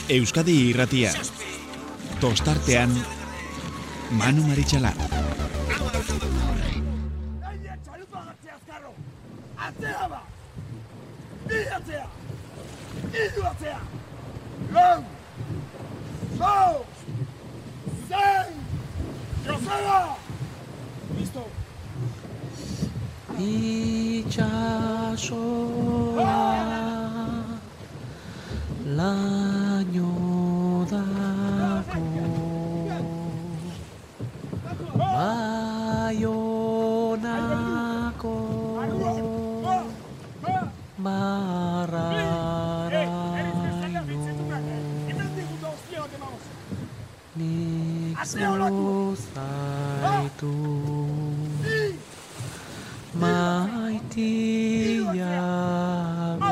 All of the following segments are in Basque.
Euskadi Irratia. Tostartean Manu Maritxalar. Atzea ba! Bi atzea! Hiru atzea! Lau! Lau! Sei! Joseba! Listo! Itxasoa laino dago Baionako marraraino nik zuzaitu maitiago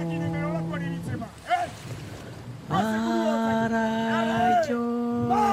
araioa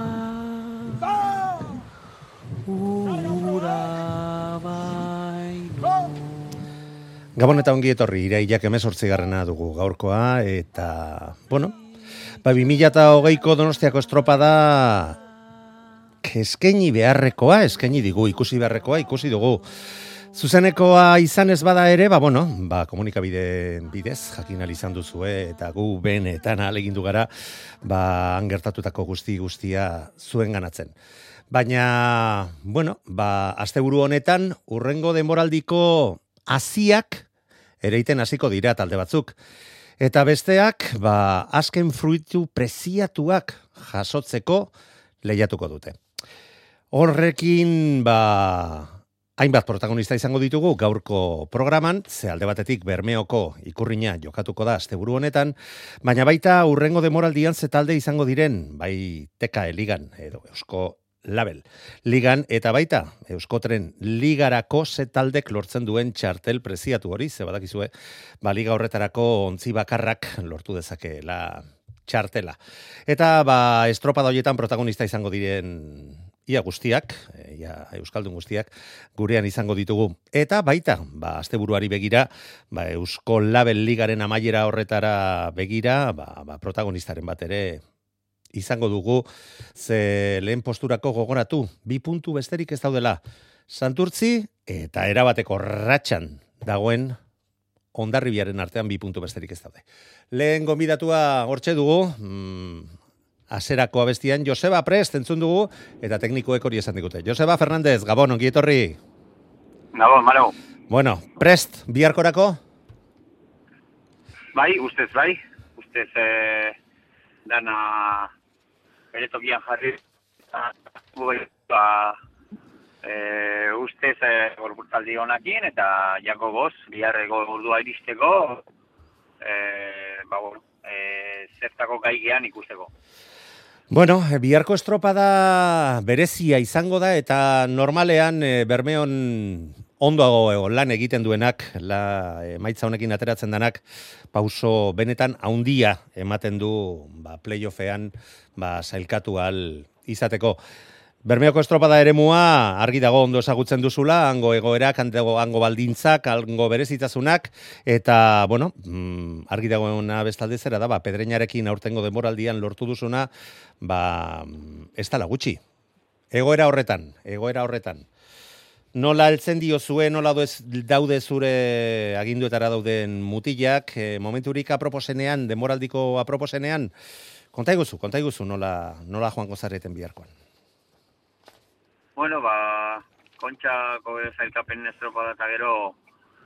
ura baino. Gabon eta ongi etorri, irailak 18. dugu gaurkoa, eta, bueno, 2020ko Donostiako estropada eskaini beharrekoa, eskaini digu, ikusi beharrekoa, ikusi dugu. Zuzenekoa izan ez bada ere, komunikabide bidez, jakin izan duzue, eta gu benetan ahalegindu gara, han gertatutako guztia zuen ganatzen. Baina, asteburu honetan, urrengo denboraldiko hasiak ereiten hasiko dira talde batzuk. Eta besteak, azken fruitu preziatuak jasotzeko lehiatuko dute. Horrekin, hainbat protagonista izango ditugu gaurko programan, ze alde batetik Bermeoko ikurrina jokatuko da asteburu honetan, baina baita urrengo demoraldian ze talde izango diren, bai TKE Ligan edo Eusko Label Ligan, eta baita Euskotren Ligarako ze taldek lortzen duen txartel preziatu hori, ze badakizue, liga horretarako ontzi bakarrak lortu dezakeela txartela. Eta estropada horietan protagonista izango diren ia guztiak, euskaldun guztiak, gurean izango ditugu. Eta baita, asteburuari begira, Eusko Label Ligaren amaiera horretara begira, protagonistaren bat ere izango dugu, ze lehen posturako gogoratu, 2 puntu besterik ez daudela. Santurtzi eta erabateko ratxan dagoen Hondarribiaren artean 2 puntu besterik ez daude. Lehen gonbidatua hortxe dugu, Aserako abestian Joseba Prest entzun dugu, eta teknikoek hori esan digute. Joseba Fernández, Gabon, ongi etorri. Gabon, Manu. Bueno, Prest, biharkorako? Ustez, dana bere tokian jarri, ustez gorpurtaldi honakin, eta Jakoboz, biharreko ordua iristeko, zertako gaigean ikusteko. Bueno, biharko estropada berezia izango da, eta normalean Bermeon ondo lan egiten duenak, emaitza honekin ateratzen denak, pauso benetan haundia ematen du playoffean sailkatu ahal izateko. Bermeoko estropada eremua argi dago ondo ezagutzen duzula, hango egoerak, hango baldintzak, hango berezitasunak, eta, argi dagoena bestalde zera da, Pedreñarekin aurtengo denboraldian lortu duzuna, ez dala gutxi. Egoera horretan. Nola heltzen diozue, nola daude zure aginduetara dauden mutilak, momenturik aproposenean, denboraldiko aproposenean, konta iguzu nola joango zareten biharkoan. Bueno, kontxako zailkapen estropada eta gero,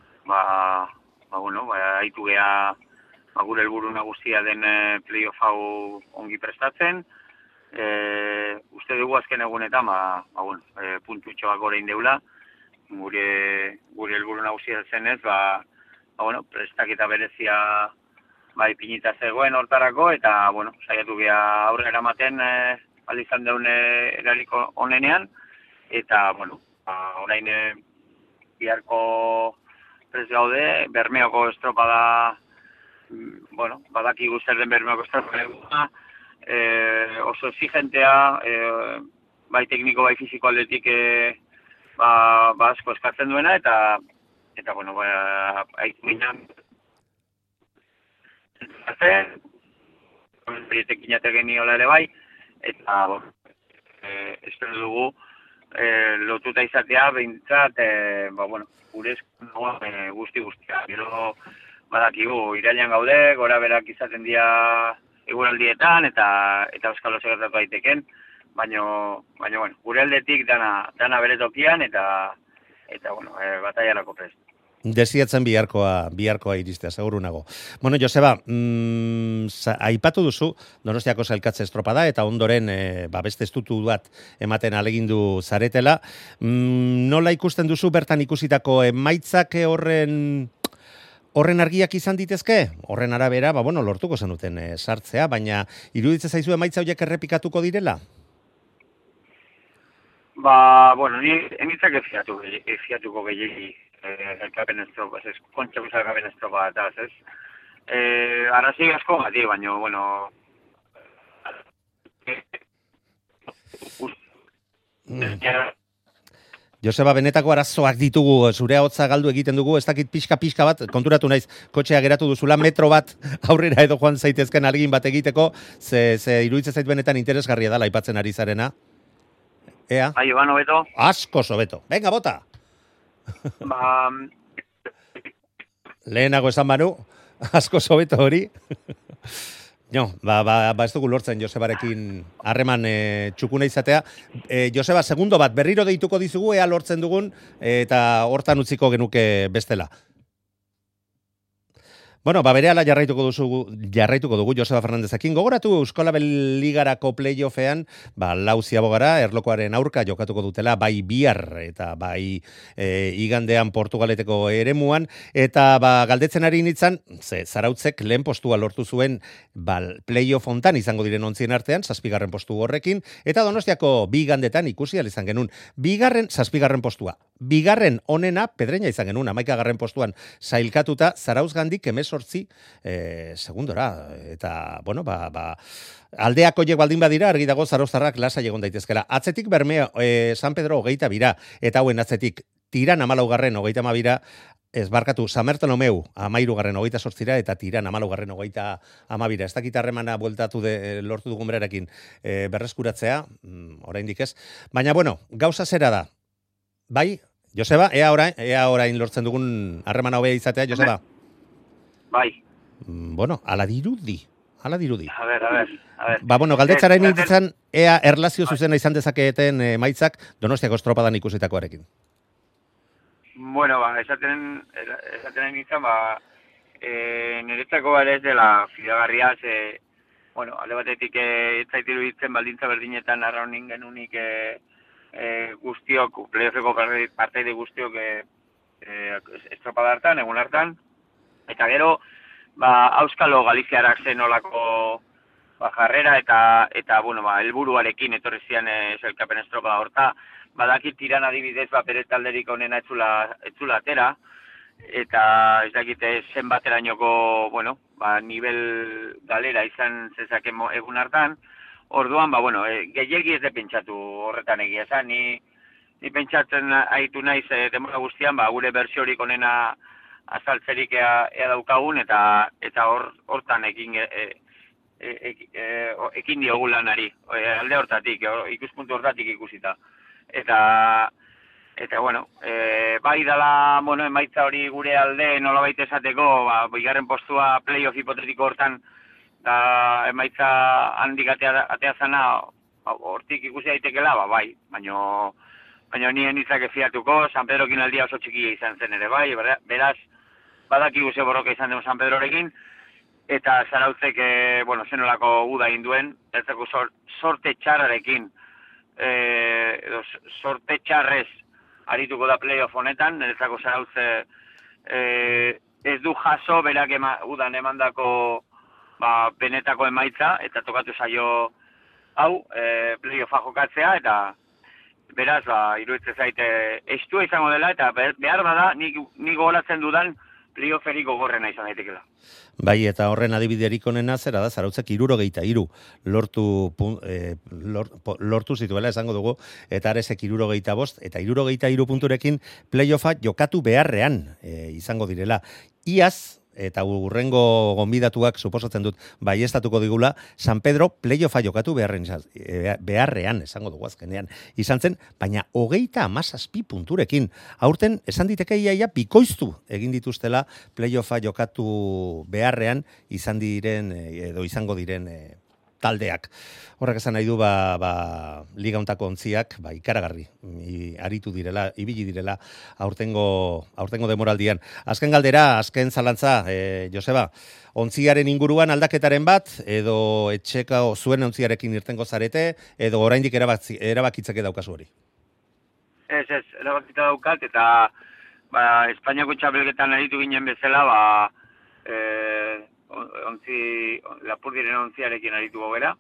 haitu geha gure helburu nagusia den playoff hau ongi prestatzen. Uste dugu azken egunetan, puntutxo bak orain deula, gure helburu nagusia zenez, prestaketa berezia ipinita zegoen hortarako, eta, saiatu geha aurre eramaten izan deun eraliko onenean, eta, orain biharko prest gaude, Bermeoko estropada, badakigu zer den Bermeoko estropada, oso exigentea, bai tekniko, bai fisiko aldetik asko eskatzen duena, eta haitu ginen berietekin jategen niola ere bai, eta espero dugu lotuta izatea behintzat, gure eskunagoa guzti-guztia. Gero badakigu, irailean gaude, gora berak izaten dira eguraldietan eta euskal oso gertatu daiteken, baina gure aldetik dana bere tokian eta bataiarako prest. Desiatzen biharkoa iristea, seguru nago. Bueno, Joseba, aipatu duzu, Donostiako sailkatze estropada eta ondoren beste estutu bat ematen alegindu zaretela. Nola ikusten duzu bertan ikusitako emaitzak horren argiak izan ditezke? Horren arabera, lortuko zenuten sartzea, baina iruditzen zaizu emaitza horiek errepikatuko direla? Ni emitzak efiatuko gehiagi elkapen estropa, kontxako elkapen estropa eta, ez? Arrazi asko gati, baina, Joseba, benetako arazoak ditugu, zure ahotsa galdu egiten dugu, ez dakit pixka bat, konturatu naiz, kotxea geratu duzula, metro bat aurrera edo joan zaitezken alegin bat egiteko, ze iruditzen zait benetan interesgarria da aipatzen ari zarena. Ea? Bai, Iban, hobeto? Asko sobeto. Venga, bota! Lehenago esan Manu, asko sobeto hori. No, ez dugu lortzen Josebarekin harreman txukuna izatea. Joseba, segundo bat, berriro deituko dizugu, ea lortzen dugun, eta hortan utziko genuke bestela. Bueno, berehala jarraituko dugu Joseba Fernandezekin. Gogoratu Euskolabel Ligarako playoffean, lau ziabogara, erlokoaren aurka jokatuko dutela, bai bihar eta bai igandean Portugaleteko eremuan, eta galdetzen ari nintzen, Zarautzek lehen postua lortu zuen playoff hontan izango diren ontzien artean, 7. postu horrekin, eta Donostiako bi igandetan ikusi izan genuen, 7. postua. Bigarren onena, Pedreña izan genuen, 11. postuan sailkatuta, Zarauzgandik 18 segundora. Eta, aldeako horiek baldin badira, argi dago Zarauztarrak lasa egon daitezkela. Atzetik Bermeo, San Pedro 22, eta hauen atzetik Tiran 14, 32, ez barkatu, San Bartolomeu 13, 28, eta Tiran 14, 32. Ez dakit harremana bueltatu lortu dugun berarekin berreskuratzea, oraindik ez. Baina, gauza zera da. Bai, Joseba, ea orain lortzen dugun harremana hobea izatea, Joseba? Bai. Ala dirudi. A ver. Galdetzaren nintzen, ea erlazio zuzena izan dezaketen maitzak Donostiako estropadan ikusitakoarekin. Esaten nintzen, niretzako ez dela fidagarria, alde batetik ez zaitiru ditzen baldintza berdinetan arraunin genunik guztiok, playoffeko parteide guztiok estropada hartan, egun hartan, eta gero, Auskalo Galiziarak zen olako jarrera eta helburuarekin etorri zian elkapen estropada horta, badakit Tiran adibidez bere talderik onena etzula atera, eta ez dakite zenbaterainoko, nivel galera izan zezake egun hartan. Orduan, gehiegi ez de pentsatu horretan egia esan, ni pentsatzen haitu naiz demora guztian, gure bertsiorik onena azaltzerik ea daukagun, eta hortan ekin diogu lanari, alde hortatik, ikuspuntu hortatik ikusita. Eta bai dala, emaitza hori gure alde nolabait esateko, bigarren postua playoff hipotetiko hortan, eta emaitza handik atea zana hortik ikusi daitekela, bai, baina nien izak efiatuko, San Pedrokin aldia oso txikia izan zen ere, bai, beraz, badakigu ze borroka izan den San Pedrorekin, eta Zarautzek, zenolako uda induen, ezako sorte txarrarekin, sorte txarrez arituko da playoff honetan, ezako Zarautze ez du jaso berak udan emandako benetako emaitza, eta tokatu zaio hau, playoffa jokatzea, eta beraz, iruditzen zaite estua izango dela, eta behar bada, nik gogoratzen dudan playofferik gogorrena izan daitekela. Bai, eta horren adibiderik onena zera da, Zarautzek 63 lortu zituela esango dugu, eta Aresek 65, eta 63 punturekin playoffa jokatu beharrean izango direla. Iaz, eta urrengo gonbidatuak suposatzen dut baiestatuko digula, San Pedro playoffa jokatu beharrean, esango dugu azkenean, izan zen, baina 37 punturekin. Aurten, esan diteke iaia bikoiztu egin dituztela playoffa jokatu beharrean izan diren, edo izango diren taldeak. Horrek esan nahi du liga hontako ontziak ikaragarri aritu direla, ibili direla aurtengo demoraldian. Azken galdera, azken zalantza, Joseba, ontziaren inguruan aldaketaren bat, edo etxeka zuen ontziarekin irtengo zarete, edo oraindik erabakitzeke daukazu hori? Ez, erabakita daukat, eta Espainiako txapelketan aritu ginen bezala, Lapurdiren ontziarekin arituko gera,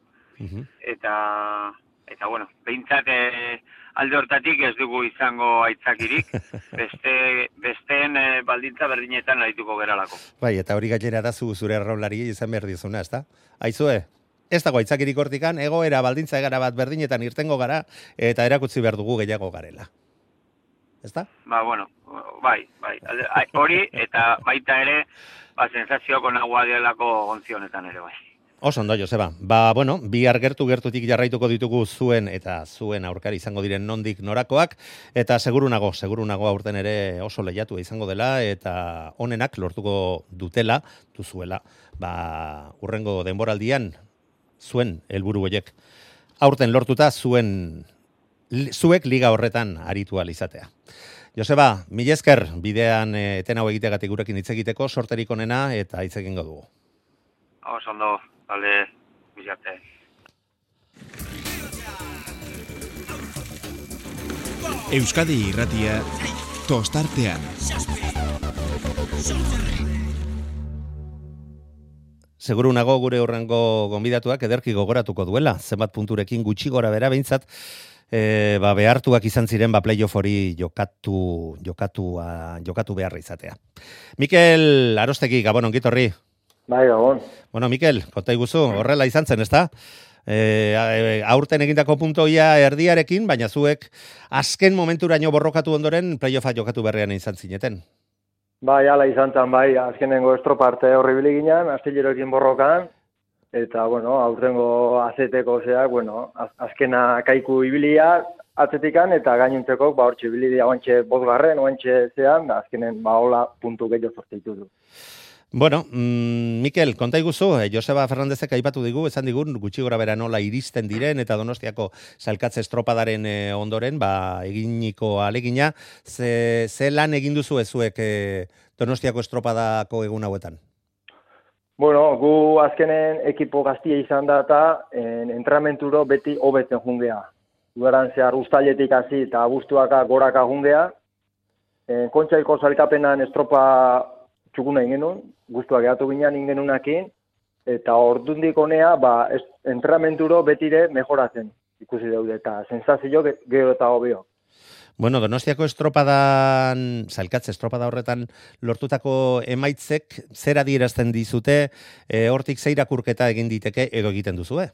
eta bueno, behintzat alde hortatik ez dugu izango aitzakirik, besteen baldintza berdinetan arituko geralako. Bai, eta hori gainera da zure arraunlari izan behar dizuna, ezta? Aizue, ez dago aitzakirik hortikan, egoera baldintza egara bat berdinetan irtengo gara, eta erakutsi behar dugu gehiago garela. Ezta? Bueno, bai, hori, eta baita ere, sensazioako nagua dielako gontzi honetan ere bai. Oso ondo, Joseba. Bueno, bihar gertutik jarraituko ditugu zuen eta zuen aurkari izango diren nondik norakoak, eta seguru nago aurten ere oso lehiatu izango dela, eta onenak lortuko duzuela, urrengo denboraldian zuen helburu horiek. Aurten lortuta zuek liga horretan aritu ahal izatea. Joseba, mila esker, bidean eten hau egitegatik gurekin hitz egiteko, sorterik onena eta hitz egingo dugu. Oso ondo, bale, bizarte. Euskadi Irratia, tostartean. Seguru nago gure horrengo gonbidatuak ederki gogoratuko duela, zenbat punturekin gutxi gora bera behintzat, behartuak izan ziren playoff hori jokatu beharra izatea. Mikel Arostegi, Gabon, ongitorri. Bai, Gabon. Bueno, Mikel, konta iguzu, horrela izan zen, ezta? Aurten egindako puntoia erdiarekin, baina zuek azken momenturaino borrokatu ondoren playoffa jokatu berrean izan zineten. Bai, ala izan zen, bai, azkenengo estroparte horribili ginen, astilleroekin borrokan, eta, aurrengo azeteko azkena kaiku ibilia atzetikan, eta gainuntzeko, hortxe ibilidia oantxe bosgarren, oantxe zean, azkenen, hola puntu gehiago sorteitu du. Bueno, Mikel, konta iguzu, Joseba Fernandezek aipatu digu, esan digun, gutxi gora bera nola iristen diren, eta Donostiako sailkatze estropadaren ondoren, eginiko alegina, ze lan egin duzu ezuek Donostiako estropadako egun hauetan? Bueno, gu azkenen ekipo gaztia izan da eta entramenturo beti hobetzen jungea. Gueran zehar ustaletik hasi eta abuztuaka goraka jungea. Kontxaiko sailkapenan estropa txukuna ingenun, guztuak egatu ginen ingenunakin, eta ordundik honea, entramenturo betire mejoratzen ikusi daude, eta sensazio gero eta hobio. Bueno, Donostiako estropadan, sailkatze estropada horretan lortutako emaitzek, zer adierazten dizute, hortik ze irakurketa egin diteke edo egiten duzue?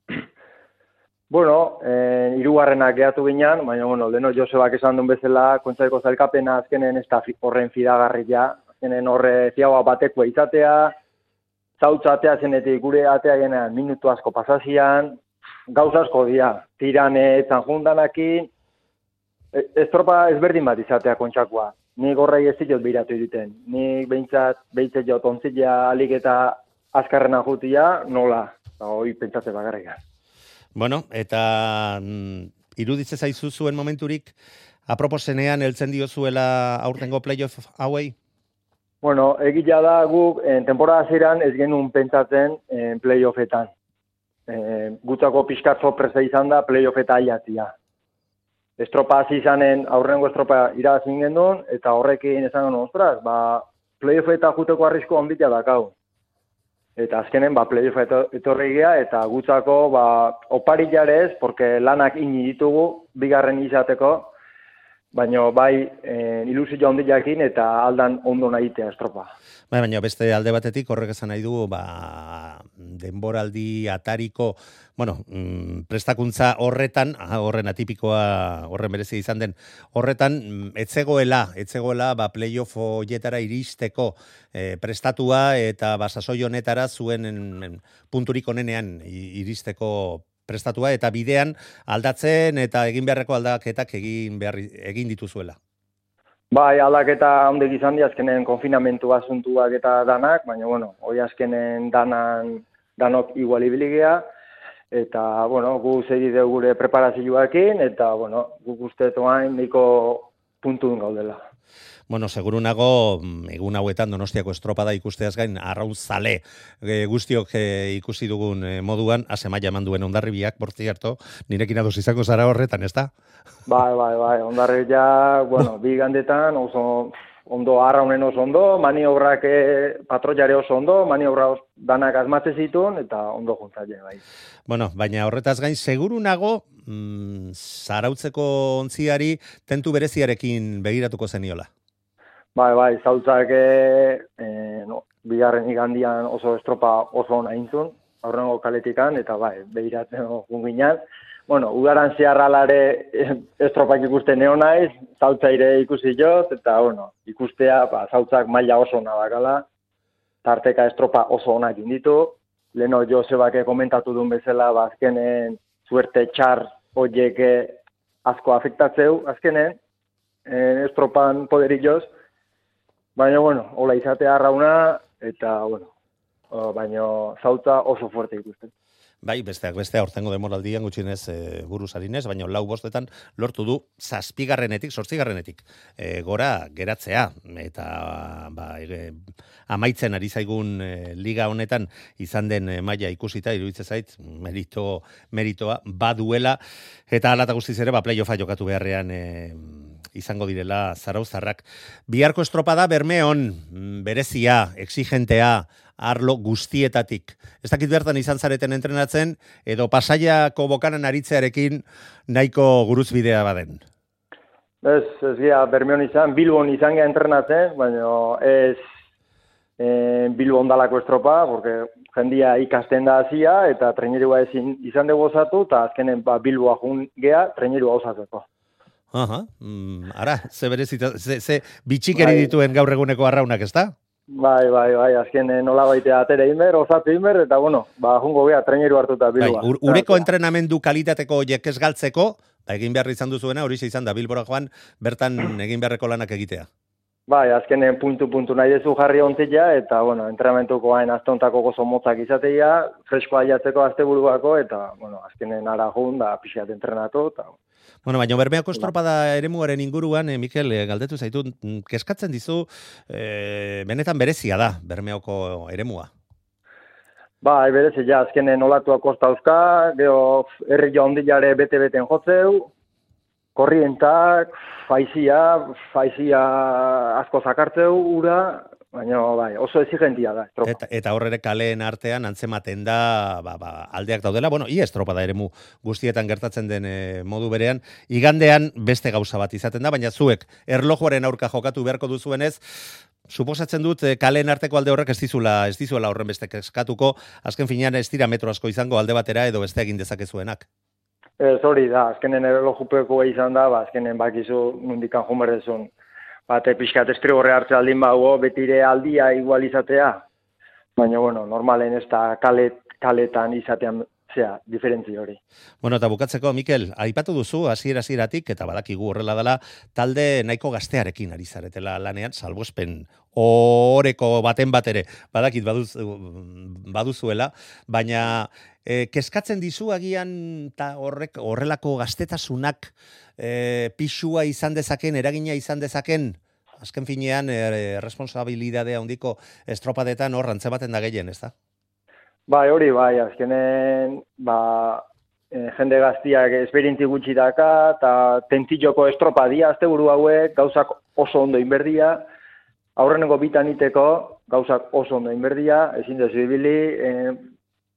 Bueno, hirugarrenak gehatu ginen, baina, leno Josebak esan duen bezala, kontxaiko sailkapena azkenen ez da horren fidagarria, azkenen horre ziagoa batekoa izatea, zautza atea zenetik gure atea genean minutu asko pasazian, gauza asko dira, tirane etzan jundanakin, estropa ezberdin bat izatea kontxakoa. Nik horrei ez ziot behiratu egiten. Nik behintzat jot ontzila alik eta azkarrena jutia, nola, hoi pentsatze bagarrika. Bueno, eta iruditze zaizu zuen momenturik, aproposenean heltzen diozuela aurtengo playoff hauei? Bueno, egia da guk temporada ziren ez genuen pentsatzen playoffetan. Gutzako pixkat sorpresa izan da playoffeta aiatzia. Estropa hasi izanen, aurrengo estropa irabazin gendun, eta horrekin esan genuen, ostras, playoffeta juteko arrisko onditia dakau. Eta azkenen, playoffeta etorri gea, eta gutzako, opari jarez, porque lanak ini ditugu, bigarren izateko, baina bai ilusio handiakin eta aldan ondo nahitea estropa. Baina beste alde batetik horrek esan nahi du, denboraldi atariko, prestakuntza horretan, horren atipikoa, horren berezia izan den, horretan, etzegoela, playoff hoietara iristeko prestatua eta sasoi honetara zuen punturik onenean iristeko prestatua eta bidean aldatzen eta egin beharreko aldaketak egin dituzuela. Bai, aldaketa handik izan di, azkenen konfinamentu asuntuak eta danak, baina, hoi azkenen danok igual ibiligea, eta, gu segi dugu gure preparazioakin, eta, guk ustetoain niko puntun gaudela. Seguru nago, egun hauetan Donostiako estropada ikusteaz gain, arraun zale guztiok ikusi dugun moduan, azemaia eman duen Hondarribiak, por cierto, nirekin ados izango zara horretan, ez da? Bai, Hondarribiak, bi gandetan, oso ondo, arraunen oso ondo, maniobrak patroiare oso ondo, maniobra danak azmatze zituen, eta ondo juntzaile, bai. Baina horretaz gain, seguru nago, zarautzeko ontziari tentu bereziarekin begiratuko zeniola. Bai, zautzak bigarren igandian oso estropa oso ona intzun, aurrengo kaletikan, eta begiratzen gunginan. Udaran zeharralare estropak ikusten neo naiz, zautzaire ikusi jot, eta ikustea zautzak maila oso ona dakala, tarteka estropa oso onak inditu. Leno Josebak komentatu duen bezala, azkenen suerte txar horiek asko afektatzeu, azkenen estropan poderik joz. Baina, hola izatea arrauna, eta, baina zautza oso fuerte ikusten. Bai, besteak beste, aurtengo demoraldian gutxienez buruz harinez, baina 4-bostetan lortu du 7garrenetik, 8garrenetik gora geratzea, eta amaitzen ari zaigun liga honetan izan den maila ikusita, iruditzen zait, meritoa baduela, eta hala eta guztiz ere, playoffa jokatu beharrean izango direla zarauztarrak. Biharko estropada Bermeon, berezia, exigentea, arlo guztietatik. Ez dakit bertan izan zareten entrenatzen, edo Pasaiako bokanan aritzearekin nahiko guruzbidea baden. Ez gira Bermeon izan, Bilbon izan gea entrenatzen, baina ez Bilbon dalako estropa, porque jendia ikasten da hazia, eta trainerua ezin izan dugu osatu, eta azkenen Bilboa jun gea trainerua osatzeko. Ara, ze bitxikeri dituen gaur eguneko arraunak, ez da? Bai, azken nola baitea atere inber, osatu inber, eta jungo gea traineru hartuta Bilboa. Ureko entrenamendu kalitateko horiek ez galtzeko, egin behar izan duzuena, hori izan da Bilbora joan, bertan egin beharreko lanak egitea. Bai, azkenen puntu nahi dezu jarri ontzia, eta, entrenamentuko hain aztontako gozo motzak izatea, freskoa jatzeko asteburuako, eta, azkenen ara jun, da pixat entrenatu, eta... Baina Bermeoko estropada eremuaren inguruan, Mikel, galdetu zaitu, keskatzen dizu, benetan berezia da, Bermeoko eremua. Bai, berezia, azkenen olatuak kostauzka, geho herri ondilare bete-beten jotzeu, korrientak, faizia asko zakartzeu, ura, baina oso exigentia da estropa. Eta horrere kaleen artean antzematen da aldeak daudela, ia estropada eremu guztietan gertatzen den modu berean, igandean beste gauza bat izaten da, baina zuek erlojuaren aurka jokatu beharko duzuenez, suposatzen dut kaleen arteko alde horrek ez dizuela horren beste eskatuko, azken finean ez dira metro asko izango alde batera edo beste egin dezakezuenak. Ez hori da, azkenen erlojupeko izan da, azkenen bakizu nundikan jumerrezun. Bate pixkat estrigorre hartze aldin bago, betire aldia igual izatea. Baina, normalen ez da kaletan izatean diferentzi hori. Eta bukatzeko, Mikel, aipatu duzu, hasieratik eta badakigu horrela dela, talde nahiko gaztearekin ari zaretela lanean, salbuespen oreko baten batere, badakit baduzuela, baina keskatzen dizu agian horrelako gaztetasunak pixua izan dezaken, eragina izan dezaken, azken finean responsabilidadea handiko estropadetan hor antzematen da gehien, ez da? Bai, hori, azkenen, jende gaztiak esperientzi gutxi daka, eta tentilloko estropa dia, asteburu hauek, gauzak oso ondo inberdia, aurreneko bitan iteko, gauzak oso ondo inberdia, ezin dezu ibili,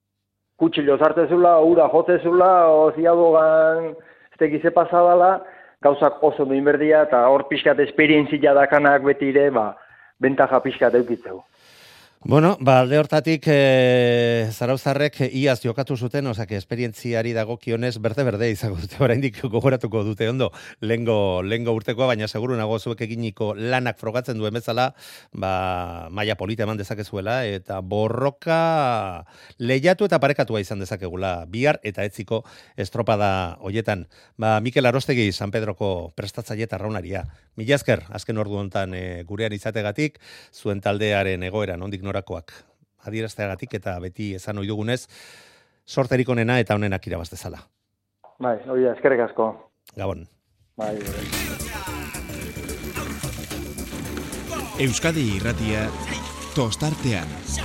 kutxilo sartzezula, ura jotzezula, o ziadogan, ez tekize pasadala, gauzak oso duin berdia, eta hor pixkat esperientzia dakanak beti ere, bentaja pixkat eukitzeu. Bueno, alde hortatik zarauzarrek iaz jokatu zuten, osake, esperientziari dagokionez berde izango dute, oraindik gogoratuko dute ondo, lehengo urtekoa, baina seguru nago zuek eginiko lanak frogatzen duen bezala, maila polita eman dezakezuela, eta borroka lehiatu eta parekatua izan dezakegula, bihar eta etziko estropada hoietan. Mikel Arostegi, San Pedroko prestatzaile eta arraunaria. Mila esker, azken ordu hontan gurean izategatik, zuen taldearen egoera, nondik norakoak adierazteagatik eta beti esan ohi dugunez, sorterik onena eta onenak irabaz dezala. Bai, hori da, eskerrik asko. Gabon. Bai, Euskadi Irratia tostartean.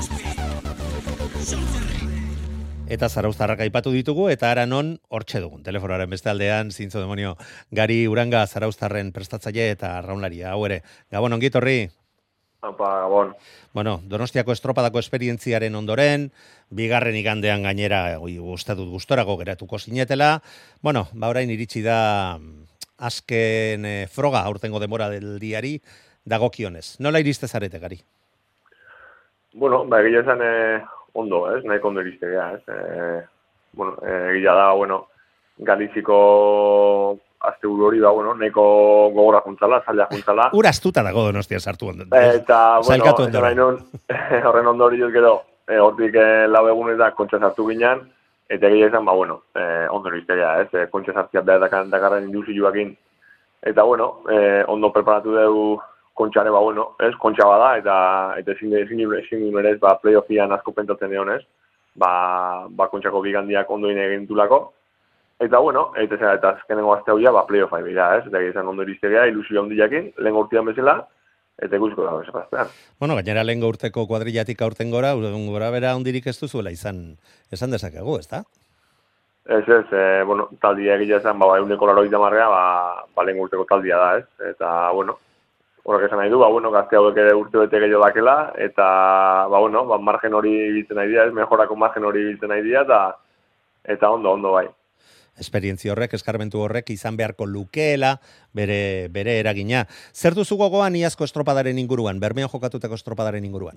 Eta zarauztarrak aipatu ditugu, eta ara non hortxe dugun. Telefonoaren beste aldean, zintzo demonio, Gari Uranga zarauztarren prestatzaile eta arraunlaria. Hau ere, Gabon, ongit horri? Gabon. Bueno, Donostiako estropadako esperientziaren ondoren, bigarren igandean gainera, uste dut gustorago geratuko zinetela. Bueno, orain iritsi da azken froga aurtengo denbora del diari dagokionez. Nola iriste zarete, Gari? Bueno, egia esan ondo, ez? Nahiko ondo iriste gara, ez? Egia da, Galiziko asteburu hori nahiko gogora juntzala, zaila juntzala. Ura astuta dago Donostia sartu ondo. Eta, horren ondo hori gero, hortik lau egunetan kontxa sartu ginean, eta egia esan, ondo iriste gara, ez? Kontxa sartzia behar dakarren induzioakin. Eta, ondo preparatu dugu kontxare, ez? Kontxa bada, eta ezin berez, playoffian asko pentatzen egon, ez? Kontxako bigandiak ondo egin dulako. Eta, eta azkenengo azte hau playoff bera, ez? Eta egizan ondo iriztegea, ilusio handiakin, lehen urtean bezala, eta ikusiko dago esapaztean. Gainera lehen urteko kuadrillatik aurten gora bera hondirik ez duzuela esan dezakegu, ez da? Ez, taldia egia esan, euneko 80 lehen urteko taldia da, ez? Eta, horrek esan nahi du, gazte hauek ere urte bete gehiago dakela, eta, margen hori biltzen nahi dira, ez? Mejorako margen hori biltzen nahi dira, eta ondo bai. Esperientzia horrek, eskarmentu horrek izan beharko lukeela bere eragina. Zer duzu gogoan iazko estropadaren inguruan, Bermeon jokatutako estropadaren inguruan?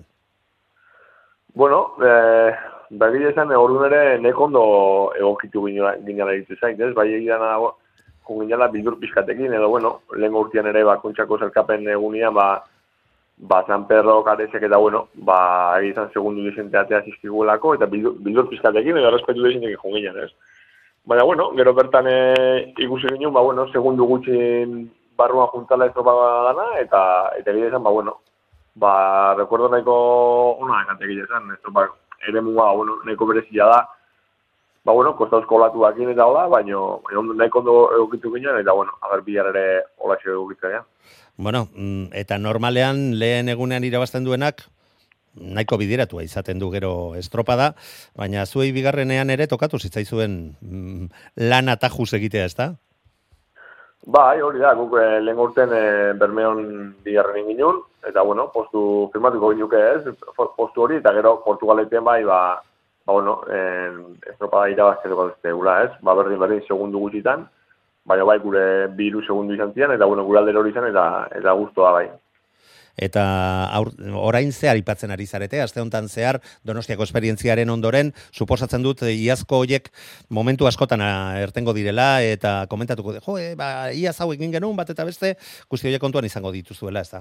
Egia esan, orduan ere neko ondo egokitu ginala egiten zain, ez? Bai egian ginala bildur pizkatekin, edo, lehen urtean ere kontxako zelkapen egunean, San Pedro karezek eta, egizan segundu desenteatea zizkiguelako, eta bildur pizkatekin, edo respetu desentekin jonginan, ez? Baina, gero bertan ikusi ginen, segundu gutxin barruan juntala estropada dana, eta egia esan, recuerdo nahiko ona ekate egia esan, estropada ere muga, nahiko berezia da, kostauzko olatuakin eta hola, baina nahiko ondo egokitu ginen, eta, agar bilar ere olatxe egokitzea. Eta normalean lehen egunean irabazten duenak, nahiko bideratua izaten du gero estropada, baina zuei bigarrenean ere tokatu zitzaizuen lan atajuz egitea, ez da? Bai, hori da, guk lehen urten Bermeon bigarren inginun, eta, postu firmatuko ginuke ez, postu hori, eta gero Portugaleten estropada irabazteko dute gula ez, berdin segundu gutxitan, baina gure 2 segundu izan zian, eta, gure aldero hori izan, eta guztua bai. Eta orain zehar aipatzen ari zarete, aste honetan zehar Donostiako esperientziaren ondoren, suposatzen dut iazko hoiek momentu askotan ertengo direla, eta komentatuko iaz hau egin genuen bat eta beste, guzti horiek kontuan izango dituzuela, ez da?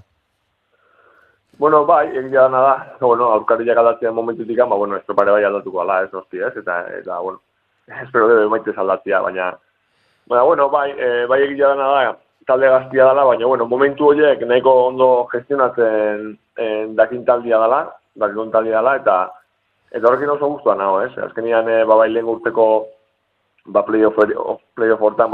Bai, egia dana da, aurkariak aldatzean momentutik, estropare bai aldatuko ala, ez nosti, ez, eta, espero debe maitez aldatzea, baina, bai egia dana da, talde gaztia dela, baina, momentu horiek nahiko ondo gestionatzen dakin taldia dela, eta horrekin oso guztua nago, ez? Azkenian, lehen urteko playoff hortan,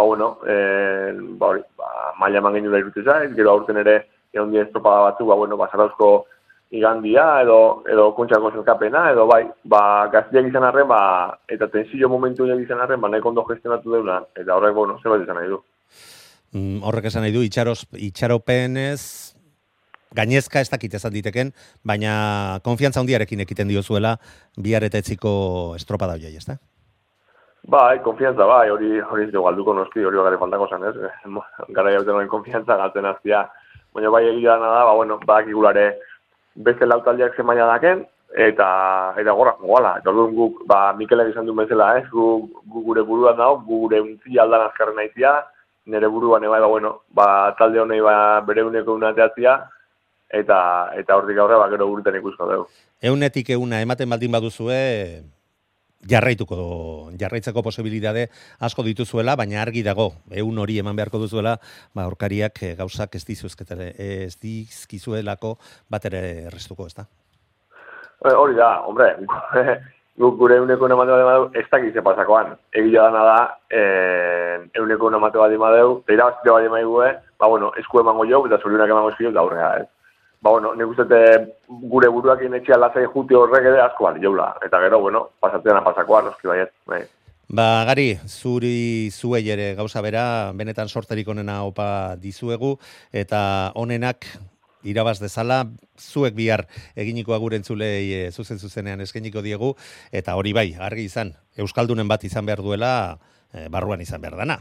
maila eman geniola irute zait, gero aurten ere, egon di estropada batzu, Zarauzko igandia, edo kontxako zelkapena, edo gaztiak izan arren, eta tensio momentu horiek izan arren, nahiko ondo gestionatu deuna, eta horrek, zerbait izan nahi du. Horrek esan nahi du, itxaropenez, gainezka ez dakit ezan diteken, baina konfiantza handiarekin ekiten diozuela bihar eta etziko estropada horiei, ez da? Bai, konfiantza, bai, hori ez dugu galduko noski, hori bagare faltako zen, ez? Gara jauten hori konfiantza galtzen aztia. Baina bai egia dana da, bueno, bakigulare beste lautaldiak zen maila daken, eta goala, eta orduan guk, Mikelek izan duen bezala, ez? Gu gure buruan dago, gu gure untzi aldan azkarren naizia, nire buruan eba, talde honei bere uneko unateatzia, eta hortik aurre, gero urten ikusko dugu. Eunetik euna ematen baldin baduzue, jarraitzeko posibilitate asko dituzuela, baina argi dago, eun hori eman beharko duzuela, aurkariak gauzak ez dizkizuelako bat ere errestuko, ez da? Hori da, hombre, guk gure euneko emate bat emadeu, ez dakize pasakoan. Egia dana da, euneko emate bat emadeu, eta irabazite bat emadeu, esku emango jau, eta zorionak emango eskio, da horrega, ez. Nik uste gure buruak inetxia lazai juti horrek ere asko bali jaula. Eta gero, pasatzean pasakoan, noski baiet. Gari, zuei ere gauza bera, benetan sorterik onena opa dizuegu, eta onenak irabaz dezala, zuek bihar eginiko agurentzulei zuzenean eskeniko diegu, eta hori bai, argi izan, Euskaldunen bat izan behar duela, barruan izan behar dana.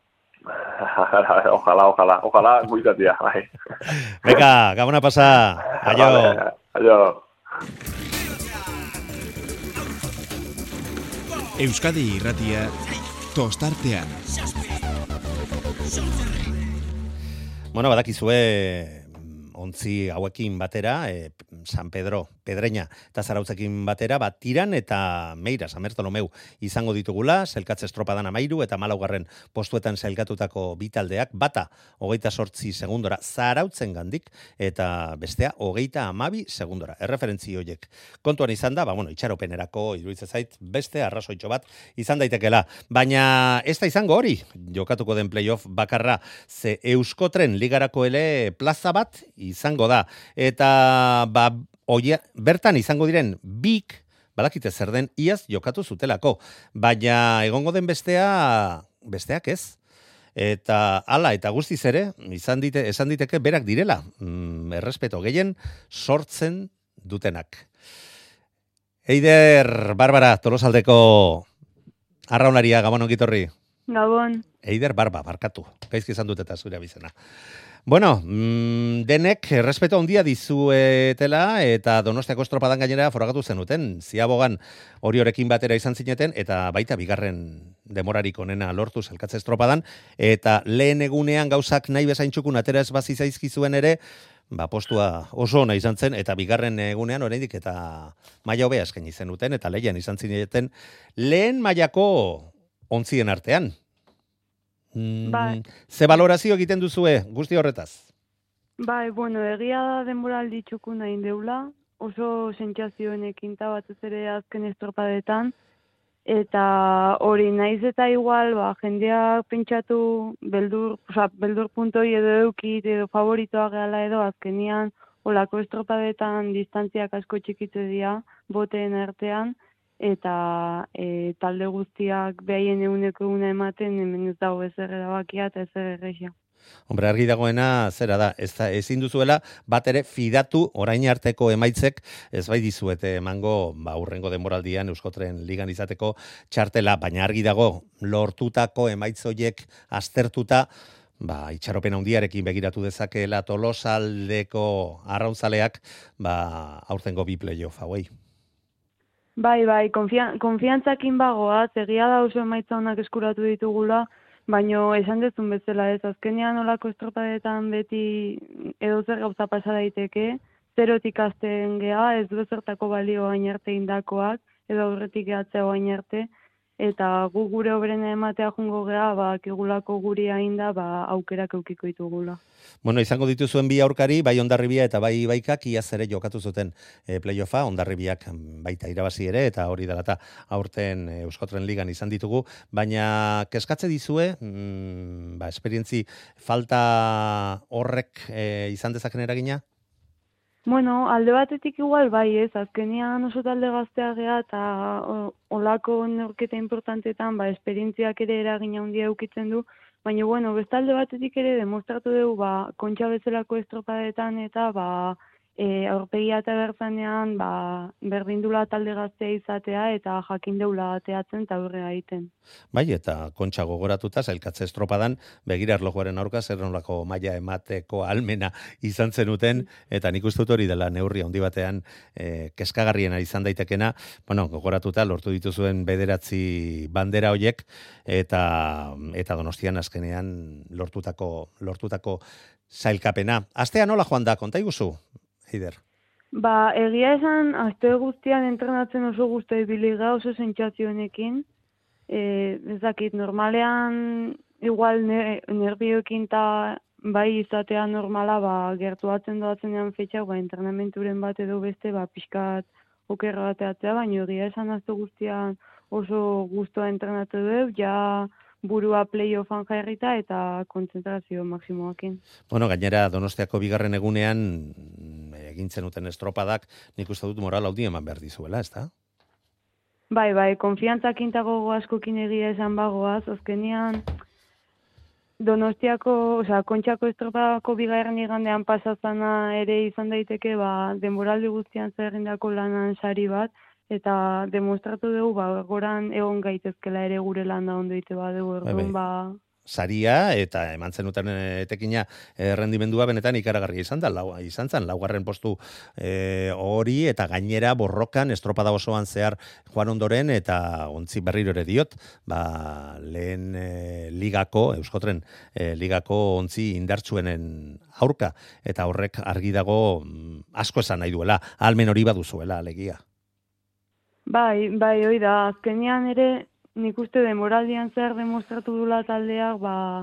Ojalá, guizatia, bai. Beka, gabona pasa, aio. Aio. Euskadi Irratia, tostartean. Badakizue, ontzi hauekin batera, San Pedro, Pedreña eta Zarautzekin batera, Tiran eta Meira, San Bertolomeu izango ditugula, sailkatze estropadan 13 eta 14 postuetan sailkatutako bi taldeak, bata 28 segundora Zarautzen gandik eta bestea 32 segundora. Erreferentzi horiek kontuan izan da, itxaropenerako iruditzen zait beste arrazoitxo bat izan daitekela, baina ez da izango hori, jokatuko den playoff bakarra, ze Euskotren ligarako ele plaza bat izango da, eta bertan izango diren bik, badakite zer den, iaz jokatu zutelako, baina egongo den besteak ez, eta hala, eta guztiz ere, esan diteke berak direla, errespeto gehien sortzen dutenak. Eider Barbara, Tolosaldeko arraunaria, Gabon ongitorri. Gabon. Eider barkatu, gaizki esan dut eta zure abizena. Denek errespeto handia dizuetela eta Donostiako estropadan gainera foragatu zenuten. Ziabogan hori horekin batera izan zineten eta baita bigarren demorarik onena lortu sailkatze estropadan eta lehen egunean gauzak nahi bezain txukun atera ez bazi zaizkizuen ere, postua oso ona izan zen eta bigarren egunean oraindik eta maila hobea eskaini zenuten eta lehian izan zineten lehen mailako ontzien artean. Ze valorazio egiten duzue guzti horretaz? Egia da denboraldi txukuna indeula, oso sentsazioenekin batez ere azken estropadetan, eta hori naiz eta igual, jendeak pentsatu beldur puntoi edo eukit edo favoritoa gehala edo azkenian olako estropadetan distantziak asko txikitze dira boteen artean, eta talde guztiak behaien euneko una ematen, hemen ez dago ezer erabakia eta ezer errexia. Hombre, argi dagoena zera da, ezin duzuela bat ere fidatu orain arteko emaitzek ez bai dizuete emango hurrengo denboraldian Euskotren ligan izateko txartela, baina argi dago lortutako emaitzoiek aztertuta, itxaropen handiarekin begiratu dezakeela Tolosaldeko arraunzaleak aurtengo bi playoff hauei. Konfiantzakin bagoaz, egia da oso emaitza honak eskuratu ditugula, baina esan dezun bezala ez, azkenean olako estropadetan beti edo zer gauza pasa daiteke, zerotik hasten gea, ez du zertako balio hain arte indakoak, edo aurretik gehatzea hain arte, eta gu gure obrena ematea jungo gea, kigulako guri ainda, aukerak eukiko ditugula. Izango dituzuen bi aurkari, bai Hondarribia eta bai Baikak iaz ere jokatu zuten playoffa, Hondarribiak baita irabazi ere, eta hori dela eta aurten Euskotren ligan izan ditugu, baina kezkatze dizue, esperientzi falta horrek izan dezaken eragina? Alde batetik igual bai ez, azkenean oso talde gaztea gea eta olako neurketa importantetan esperientziak ere eragina handia eukitzen du, baina beste alde batetik ere demostratu dugu kontxa bezalako estropadetan eta aurpegia eta bertzanean berdindula talde gaztea izatea eta jakin deula ateatzen eta aurrera egiten. Bai, eta kontxa gogoratuta, zailkatze estropadan, begira erlojuaren aurka zer nolako maila emateko almena izan zenuten, eta nik uste dut hori dela neurri handi batean kezkagarriena izan daitekena, bueno, gogoratuta lortu dituzuen 9 bandera hoiek, eta Donostian azkenean lortutako zailkapena. Astea nola joan da, konta iguzu, Eider? Egia esan, aste guztian entrenatzen oso guzti ibili gara, oso sentsazioenekin. Ez dakit, normalean igual nervioekin eta bai izatea normala, gertuatzen doatzenean fetxak, entrenamenturen bat edo beste, pixkat okerra bateatzea, baina egia esan aste guztian oso guztua entrenatu dugu, ja burua playoffan jarrita eta kontzentrazio maksimoakin. Bueno, gainera Donostiako bigarren egunean egintzen duten estropadak, nik uste dut moral haudi eman behar dizuela, ezta? Bai, konfiantzak intago askokin egia esan bagoaz, azkenean Donostiako, Kontxako estropadako bigarren igandean pasazana ere izan daiteke, denboraldi guztian zerrindako lanan sari bat, eta demostratu dugu, goran egon gaitezkela ere gure landa ondo ite badugu, orduan, saria eta eman zenuten etekina errendimendua benetan ikaragarria izan zen, laugarren postu hori eta gainera borrokan estropada osoan zehar joan ondoren eta ontzi berriro ere diot, lehen ligako, Euskotren ligako ontzi indartsuenen aurka eta horrek argi dago asko esan nahi duela, almen hori baduzuela alegia. Bai, hoi da, azkenean ere nik uste denboraldian zer demostratu dula taldeak,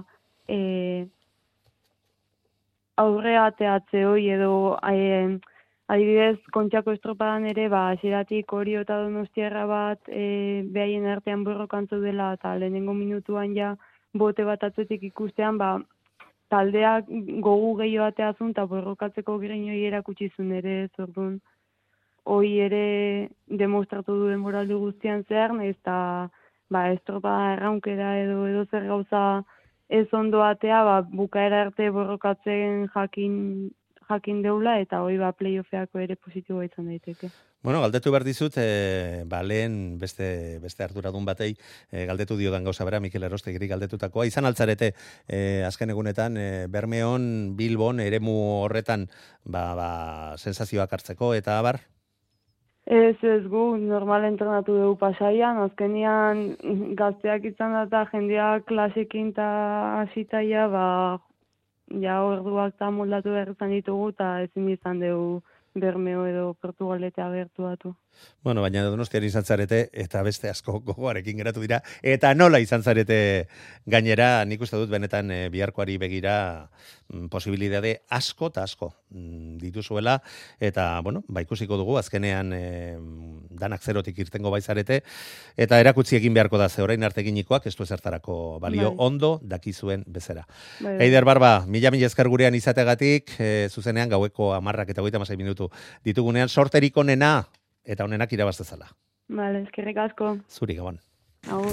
aurrea ateatze hoi edo adibidez Kontxako estropadan ere, hasieratik Orio eta Donostiarra bat behaien artean borrokantzu dela eta lehenengo minutuan ja bote bat atzetik ikustean, taldeak gogu gehiago ateazun eta borrokatzeko grinoi erakutsi zuen ere, zordun. Hoi ere demostratu du denboraldi guztian zehar, eta estropa erraunkera edo zer gauza ez ondo atea, bukaera arte borrokatzen jakin deula, eta hoi playoffeako ere positiboa izan daiteke. Bueno, galdetu behar dizut, lehen beste arduradun batei galdetu diodan gauza bera, Mikel Erostegiri galdetutakoa. Izan altzarete, azken egunetan, Bermeon, Bilbon, eremu horretan, sensazioak hartzeko, eta abar? Ez gu, normal entrenatu dugu Pasaian, azkenian gazteak izan da jendeak klasekin eta hasitaia, orduak eta moldatu behar izan ditugu, eta ezin izan dugu Bermeo edo Portugaletea gertuatu. Bueno, baina Donostian izan zarete, eta beste asko gogoarekin geratu dira, eta nola izan zarete gainera, nik uste dut benetan biharkoari begira posibilidade asko eta asko dituzuela, eta, ikusiko dugu, azkenean danak zerotik irtengo baizarete, eta erakutsi egin beharko da, ze orain arte eginikoak, ez du ezertarako balio, ondo dakizuen bezera. Eider Barba, mila esker gurean izategatik, zuzenean gaueko 10 eta 36 minutu ditugunean, sorterik onena, eta honenak irabaztezala. Vale, eskerrik asko. Zuri, Gabon. Agur.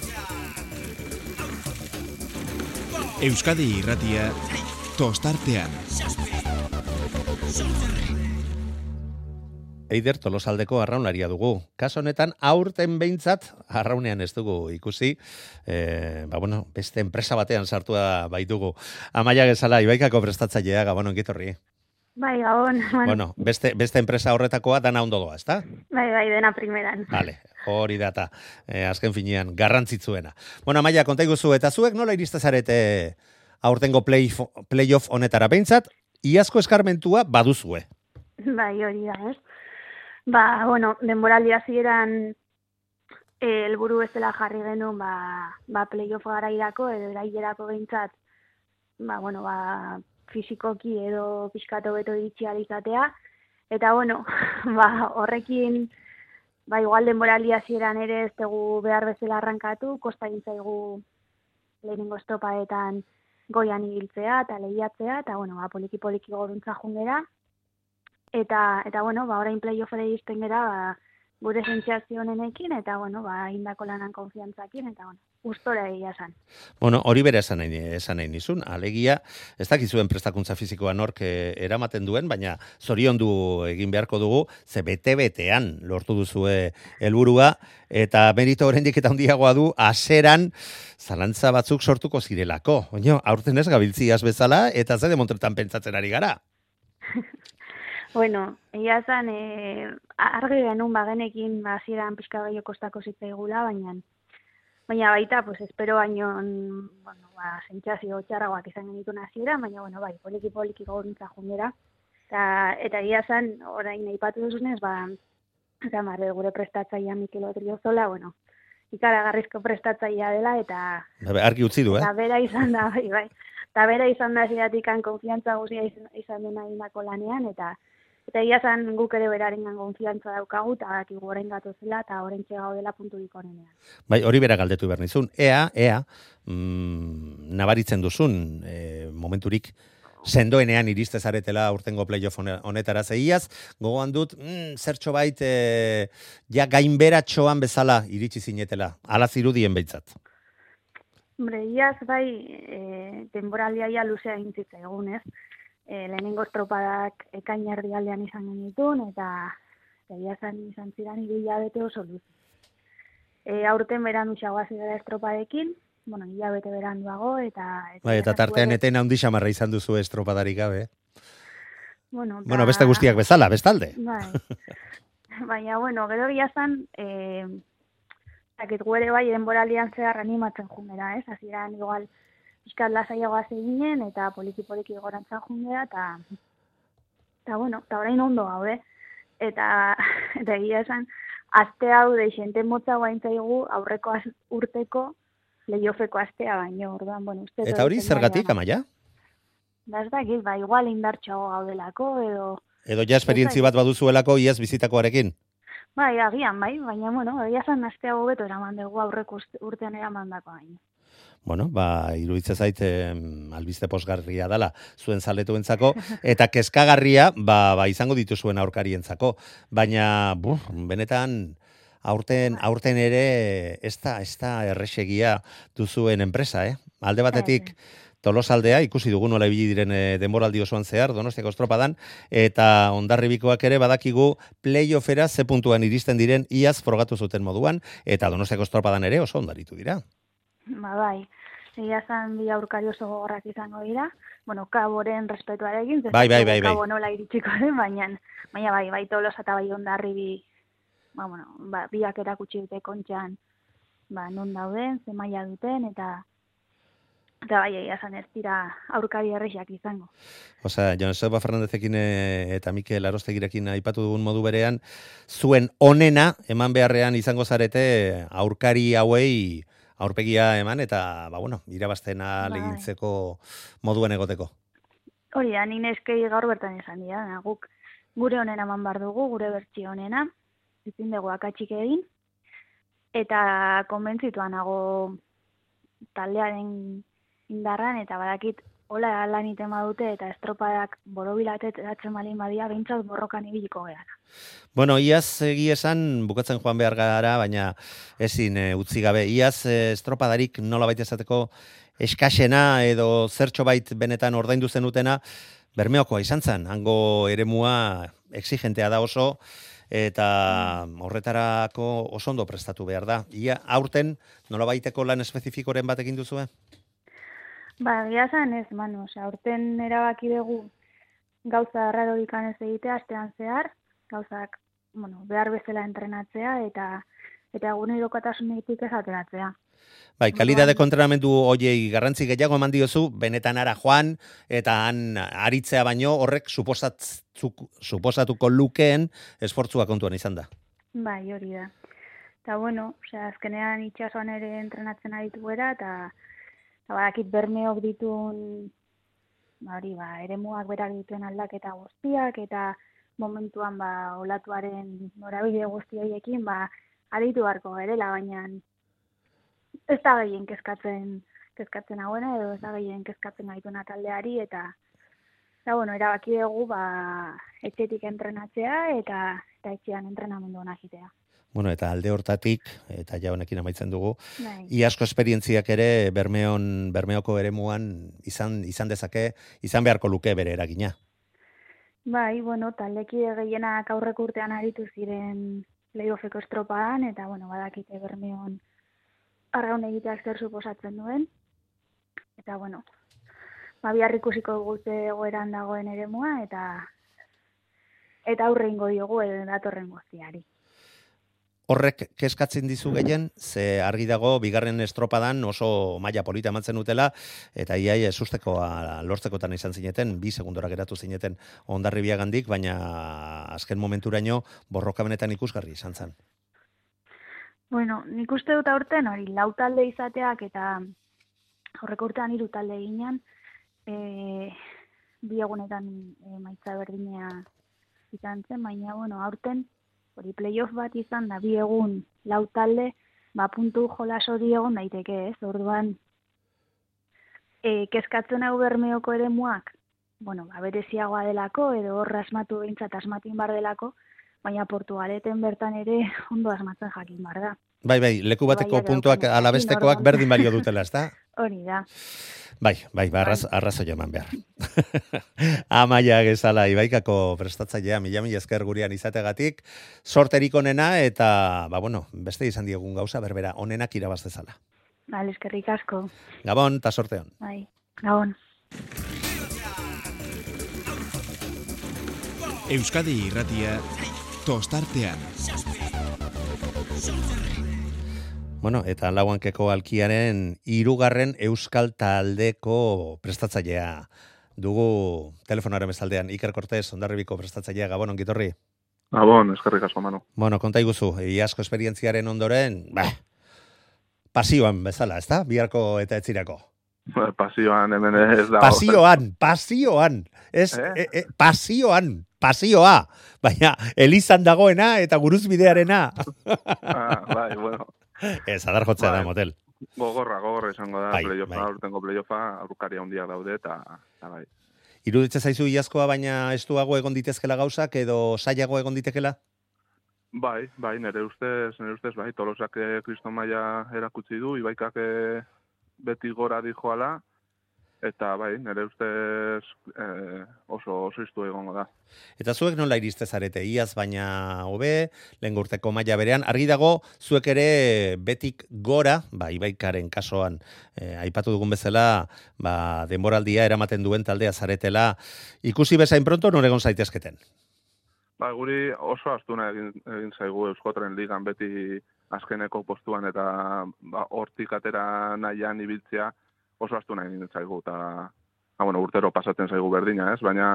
Euskadi Irratia tostartean. Eider Tolosaldeko arraunaria dugu. Kaso honetan aurten behintzat arraunean ez dugu ikusi. Beste enpresa batean sartua baitugu. Amaia Gezala, Ibaikako prestatzailea, Gabon, ongitorri. Bai, Gabon. Bueno, beste enpresa horretakoa dana ondo doa, ezta? Bai, dena primeran. Vale, hori data, azken finean, garrantzitzuena. Bueno, Amaia, konta iguzu, eta zuek nola iristezarete aurtengo playoff honetara behintzat, iazko eskarmentua baduzue. Bai, hori da, ez? Denboraldi hasieran helburu bezala jarri genuen, playoff garairako edo erailerako behintzat, fisikoki edo pixkato beto iritsi izatea. Eta, horrekin, igual denboraldi hasieran ere ez dugu behar bezala arrankatu, kosta egin zaigu lehenengo estropadetan goian ibiltzea eta lehiatzea, eta, poliki-poliki goruntza jungera. Eta orain playoffera iristen gera, gure sentsazio honenekin, eta, indako lanan konfiantzakin, eta, gustora egia esan. Bueno, hori bere esan nahi nizun, alegia, ez dakizuen prestakuntza fizikoa nork eramaten duen, baina zoriondu egin beharko dugu, ze bete-betean lortu duzue helburua, eta merito oraindik eta handiagoa du, haseran zalantza batzuk sortuko zirelako. Oino, aurten ez gabiltziaz bezala, eta ze demontretan pentsatzen ari gara. Bueno, egia esan, argi genuen bagenekin hasieran pixka gehiago kostako zitzaigula, baina baita, pues espero baino, bueno, sentsazio txarragoak izan genituen hasiera, baina bueno, bai, poliki gauruntza jundera. Eta egia esan, orain aipatu duzunez, Marre, gure prestatzailea Mikel Odriozola, bueno, ikaragarrizko prestatzailea dela, eta argi utzi du, eta bera izan da, bai. Eta bera izan da hasieratik konfiantza guztia izan dena egindako lanean, eta egia esan guk ere berarengan konfiantza daukagu, eta dakigu orain gatozela, eta orain gaudela punturik onenean. Bai, hori bera galdetu behar nizun. Ea, nabaritzen duzun momenturik sendoenean iriste zaretela urtengo playoff honetara zeiaz, gogoan dut, zertxo bait, ja gainberatxoan bezala iritsi zinetela, ala zirudien behitzat. Hombre, iaz bai, denboraldia ja luzea intzitza egunez, lehenengo estropadak ekaina erdialdean izan genitun, eta izan ziren 2 hilabete oso luze. Aurten berandu xagoazi gara estropadekin, bueno, hilabete beranduago, eta tartean eten handi xamarra izan duzu estropadarik gabe. Bueno, beste guztiak bezala, bestalde. Bai. Baina, bueno, gero giazan, guere bai denboraldian zehar animatzen jungera, ez? Hasieran igual pixkat lasaiagoa zeginen, eta poliki gorantzan jungera, eta bueno, eta orain ondo gaude. Eta egia esan, aste hau deixente motza guaintzaigu aurreko urteko lehiofeko astea baino, orduan, bueno, uste... Eta hori zergatik, Amaia? Ez dakit, igual indartxoago gaudelako, edo ja esperientzi bat baduzuelako iaz bizitakoarekin? Bai, agian, baina, bueno, egia zan astea hobeto eraman dugu aurreko urtean eraman dako baino. Bueno, iruditza zait albiste posgarria dela zuen zaletuentzako, eta kezkagarria izango dituzuen aurkarientzako. Baina, benetan... Aurten ere ez da erresegia duzuen enpresa, Alde batetik Tolosaldea, ikusi dugu nola ibili diren denboraldi osoan zehar, Donostiako estropadan, eta Hondarribikoak ere badakigu playoffera ze puntuan iristen diren iaz frogatu zuten moduan, eta Donostiako estropadan ere oso ondaritu dira. Bai, egia zan bi aurkari oso gogorrak izango dira, bueno, Kaboren respetuarekin, bai. Kabo nola iritsiko den, baina bai, Tolosa eta bai Hondarribi, biak erakutsi dute kontxan, non dauden, ze maila duten, eta bai, egia zan ez dira aurkari errexak izango. Osea, Joseba Fernandezekin eta Mikel Arostegirekin aipatu dugun modu berean, zuen onena eman beharrean izango zarete aurkari hauei aurpegia eman, eta, irabaztena legintzeko moduen egoteko. Hori da, nik neskei gaur bertan esan dira, guk gure onena eman bar dugu, gure bertsio onena, ezin dugu akatsik egin, eta konbentzituan nago taldearen indarran, eta badakit hola lan iten badute, eta estropadak borobilatet eratzen balin badia, behintzat borrokan ibiliko gehala. Bueno, iaz egi esan bukatzen joan behar gara, baina ezin utzi gabe. Iaz estropadarik nola baita esateko eskasena edo zertxo bait benetan ordaindu zenutena, Bermeokoa izan zen, hango eremua exigentea da oso, eta horretarako oso ondo prestatu behar da. Ia aurten nola baiteko lan espezifikoren bat egin duzue? Egia zan ez, aurten erabaki dugu gauza arrarorik ez egitea, astean zehar, gauzak, behar bezala entrenatzea, eta egunerokotasunetik ez ateratzea. Bai, kalidadeko entrenamendu hoiei garrantzi gehiago eman diozu, benetan ara joan, eta han aritzea baino horrek suposatuko lukeen esfortzua kontuan izan da. Bai, hori da. Eta azkenean itxasoan ere entrenatzen aritu gara, eta badakit Bermeok ditun, eremuak berak dituen aldaketa guztiak, eta momentuan olatuaren norabide guzti horiekin, aritu beharko gerela, baina ez da gehien kezkatzen hauena, edo ez da gehien kezkatzen gaituna taldeari, eta erabaki dugu etxetik entrenatzea, eta etxean entrenamendu hona jitea. Bueno, eta alde hortatik, eta ja honekin amaitzen dugu, Bai. iazko esperientziak ere Bermeoko eremuan izan dezake, izan beharko luke bere eragina. Bai, bueno, taldekide gehienak aurreko urtean aritu ziren playoffeko estropadan, eta, bueno, badakite Bermeon arraun egiteak zer suposatzen duen. Eta, bueno, bihar ikusiko dugu ze egoeran dagoen eremua, eta aurre ingo diogu datorren guztiari. Horrek kezkatzen dizu gehien, ze argi dago bigarren estropadan oso maila polita emantzen utela, eta iaia sustekoa lortzekotan izan zineten, 2 segundora geratu zineten Hondarribiagandik, baina azken momenturaino borroka benetan ikusgarri izan zen. Bueno, nik uste dut aurten hori, 4 talde izateak eta aurreko urtean 3 talde ginean, 2 egunetan emaitza berdinea izan zen, baina, bueno, aurten hori playoff bat izan da 2 egun 4 talde, puntu jolas hori egon daiteke, ez? Orduan, kezkatzen hau Bermeoko eremuak, bueno, bereziagoa delako, edo hor asmatu behintzat asmatin bar delako, baina Portugaleten bertan ere ondo asmatzen jakin bar da. Bai, leku bateko puntuak alabestekoak berdin balio dutela, ezta? Hori da. Bai, arrazoia eman behar. Amaia Gezala, Ibaikako prestatzailea, mila esker gurean izategatik, sorterik onena eta, beste izan diegun gauza, berbera, onenak irabaz dezala. Bale, eskerrik asko. Gabon, eta sorteon. Bai, gabon. Euskadi Irratia tostartean. Bueno, eta Lauankeko Alkiaren 3. euskal taldeko prestatzailea dugu telefonaren bezaldean. Iker Cortés, Hondarribiko prestatzailea, Gabon, ongitorri. Gabon, eskerrik asko, Manu. Bueno, konta iguzu, iazko esperientziaren ondoren, pasioan bezala, ezta? Biharko eta etzirako. Pasioan hemen ez da. Pasioan. Pasioa. Baina, Elizan dagoena eta guruzbidearena. Bai, bueno. Ez, adar jotzea da motel. Gogorra izango da, urtengo playoffa, aurkaria handiak daude, eta bai. Iruditzen zaizu iazkoa, baina estuago egon ditezkela gauzak, edo saiago egon ditekela? Bai, nire ustez, bai, Tolosak kriston maila erakutsi du, Ibaikak beti gora dijoala, eta bai, nire ustez oso iztu egongo da. Eta zuek nola iriste zarete, iaz baina hobe, lehen urteko maila berean, argi dago zuek ere betik gora, Ibaikaren kasoan, aipatu dugun bezala, denboraldia eramaten duen taldea zaretela, ikusi bezain pronto nore egon zaitezketen? Guri oso astuna egin zaigu Euskotren ligan beti azkeneko postuan eta hortik atera nahian ibiltzea oso astuna egin zaigu eta urtero pasatzen zaigu berdina, ez? Baina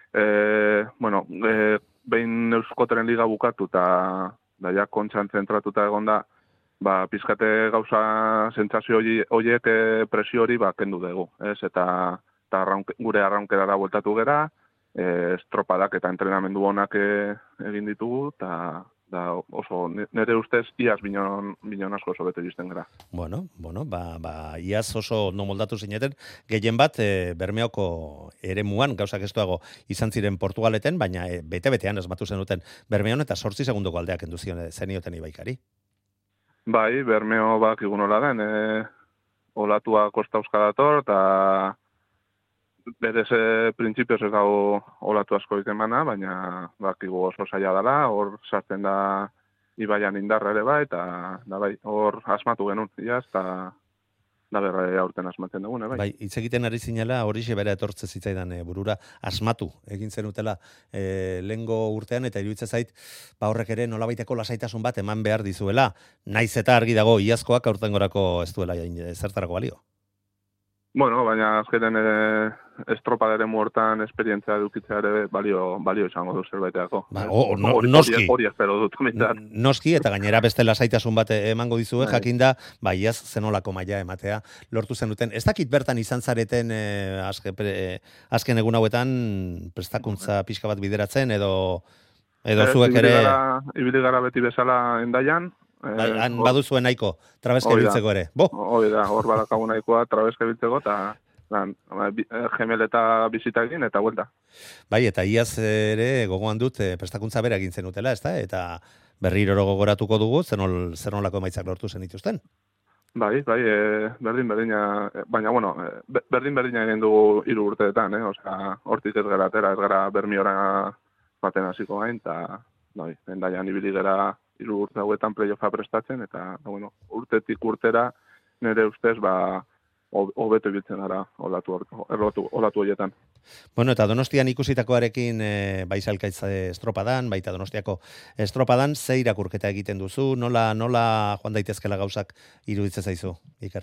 behin Euskotren liga bukatu eta ja kontxan zentratuta egonda, pizkate gauza sentsazio horiek presio hori kendu dugu, ez? Eta gure arraunkerara bueltatu gera, estropadak eta entrenamendu honak egin ditugu, eta oso, nire ustez, iaz binon asko oso bete izten gara. Bueno, iaz oso no moldatu zineten, gehien bat Bermeoko eremuan, gauzak estuago izan ziren Portugaleten, baina bete-betean esmatu zenuten Bermeon eta 8 segundoko aldeak endu zenioten Ibaikari. Bai, Bermeo bakigun hola den, olatua Kosta Euskadator, eta berez printzipioz ez dago olatu asko ikemana, baina bakigu oso zaila dela, hor sartzen da Ibaian indarra ere bai, eta hor asmatu genuen, eta da berre aurten asmatzen dugun, bai. Bai, hitz egiten ari zinela, horixe bera etortze zitzaidan burura, asmatu egin zenutela lehengo urtean, eta iruditzen zait, horrek ere nolabaiteko lasaitasun bat eman behar dizuela, naiz eta argi dago iazkoak aurtengorako ez duela zertarako balio. Bueno, baina azkenen estropadaren hortan esperientzia edukitzea ere balio izango du zerbaiteako. Noski. Hori espero dut. Noski, eta gainera beste lasaitasun bat emango dizue, jakinda, iaz zenolako maila ematea lortu zenuten. Ez dakit bertan izan zareten azken egun hauetan prestakuntza pixka bat bideratzen, edo zuek ere... Ibili gara beti bezala Endaian. Han baduzuen nahiko, trabeska biltzeko ere. Hori da, hor badakagu nahikoa trabeska biltzeko, eta gemeleta bizitakin eta vuelta. Bai, eta iaz ere gogoan dut prestakuntza bera egin zenutela, ezta? Eta berriro gogoratuko dugu, zer nolako emaitzak lortu zenituzten. Bai, berdina, baina, bueno, berdina egin dugu 3 urteetan, osea, hortik ez gara atera, ez gara Bermiora baten hasiko gain, eta, bai, endaian ibili gara 3 urte hauetan playoffa prestatzen, eta, bueno, urtetik urtera, nire ustez, hobeto ibiltzen gara olatu horietan. Bueno, eta Donostian ikusitakoarekin bai Zalkaitz estropadan, baita Donostiako estropadan, ze irakurketa egiten duzu, nola joan daitezkela gauzak iruditzen zaizu, Iker?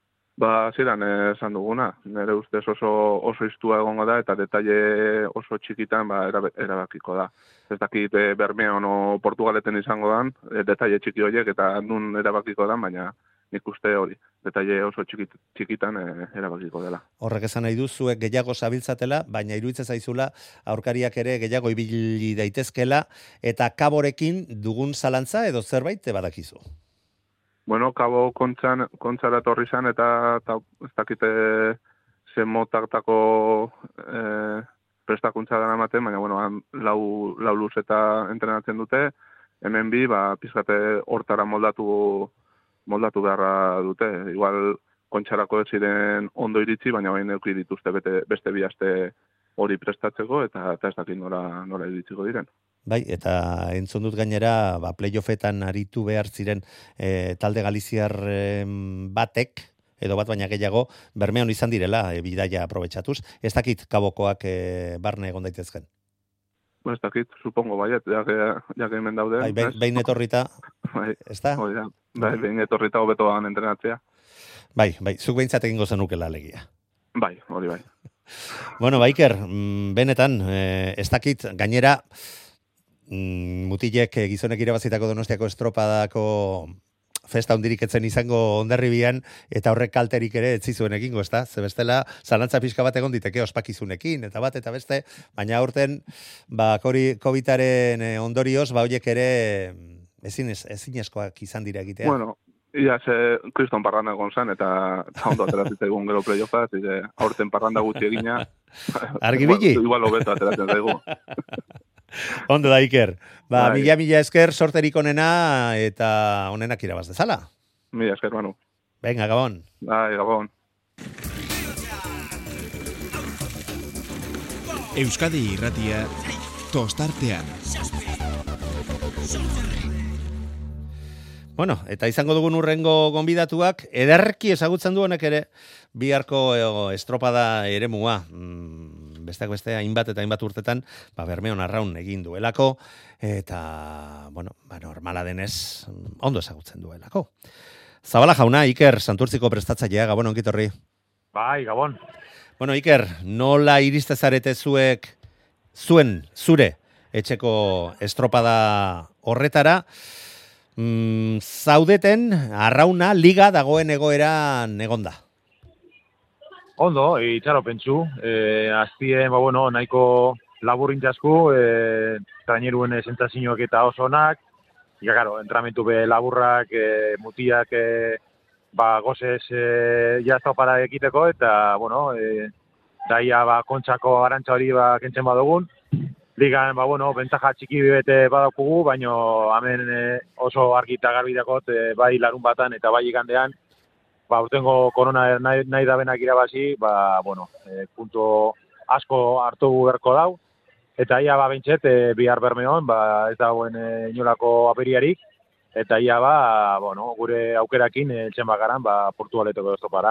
Ziren esan duguna, nire ustez oso iztua egongo da, eta detaile oso txikitan erabakiko da. Ez dakit Bermeon o Portugaleten izango dan, detaile txiki horiek, eta nun erabakiko dan, baina nik uste hori, detaile oso txikitan erabakiko dela. Horrek esan nahi du, zuek gehiago zabiltzatela, baina iruditzen zaizula aurkariak ere gehiago ibili daitezkela, eta Kaborekin dugun zalantza edo zerbait badakizu? Bueno, Kabo kontzara etorri zan, eta ez dakite zen motaktako prestakuntza dara ematen, baina, bueno, lau luz eta entrenatzen dute, hemen bi, pizkate hortara moldatu beharra dute. Igual kontxarako ez ziren ondo iritsi, baina bain euki dituzte beste 2 aste hori prestatzeko, eta ez dakit nola iritsiko diren. Bai, eta entzun dut gainera, playoffetan aritu behar ziren talde galiziar batek, edo bat baina gehiago, Bermeon izan direla, bidaia aprobetxatuz. Ez dakit Kabokoak barne egon daitezken? Ez dakit, supongo baiet, jake hemen daude. Bai, behin etorrita, ez da? Bai, behin etorrita hobetoan entrenatzea. Bai, zuk behintzat egingo zenukela alegia. Bai, hori bai. Bueno, Iker, benetan, ez dakit, gainera, mutilek gizonek irabazitako Donostiako estropadako festa hundirik etzen izango Hondarribian, eta horrek kalterik ere etzizuen egingo, ez da? Zebestela, zalantza pixka bat egon diteke ospakizunekin, eta bat, eta beste, baina aurten, COVID-aren ondorioz, horiek ere ezinezkoak izan dira egitea. Bueno, ia kriston parranda egon zen, eta ondo ateratzen egun gero playoffa, aurten parranda gutxi egina. Argibili? Igual hobeto ateratzen zaigu. Ondo da, Iker. Mila esker, sorterik onena, eta onenak irabaz dezala. Mila esker, Manu. Venga, Gabon. Bai, Gabon. Euskadi Irratia, tostartean. Bueno, eta izango dugun urrengo gonbidatuak, ederki ezagutzen du honek ere, biharko estropada eremua. Besteak beste, hainbat eta hainbat urtetan, Bermeon arraun egin duelako, eta, normala denez, ondo ezagutzen duelako. Zabala jauna, Iker, Santurtziko prestatzailea, Gabon, ongitorri. Bai, Gabon. Bueno, Iker, nola iriste zarete zure etxeko estropada horretara, zaudeten arrauna liga dagoen egoeran egonda? Ondo, itxaro pentsu. Aztien, nahiko laburrintzasku, traineruen sentsazioak eta oso onak. Claro, entramentu be laburrak, mutiak, gozez estropada ekiteko, eta, daia kontxako arantza hori kentzen badugun. Ligan, bentaja txiki bete badakugu, baino hemen oso argi eta garbi dakot, bai larun batan eta bai igandean, urtengo korona nahi da benak irabazi, punto asko hartu berko dau, eta ia bentset, bihar Bermeon, ez dagoen inolako aperiarik, eta ia gure aukerakin etxen bakaran, Portugaletoko estropara.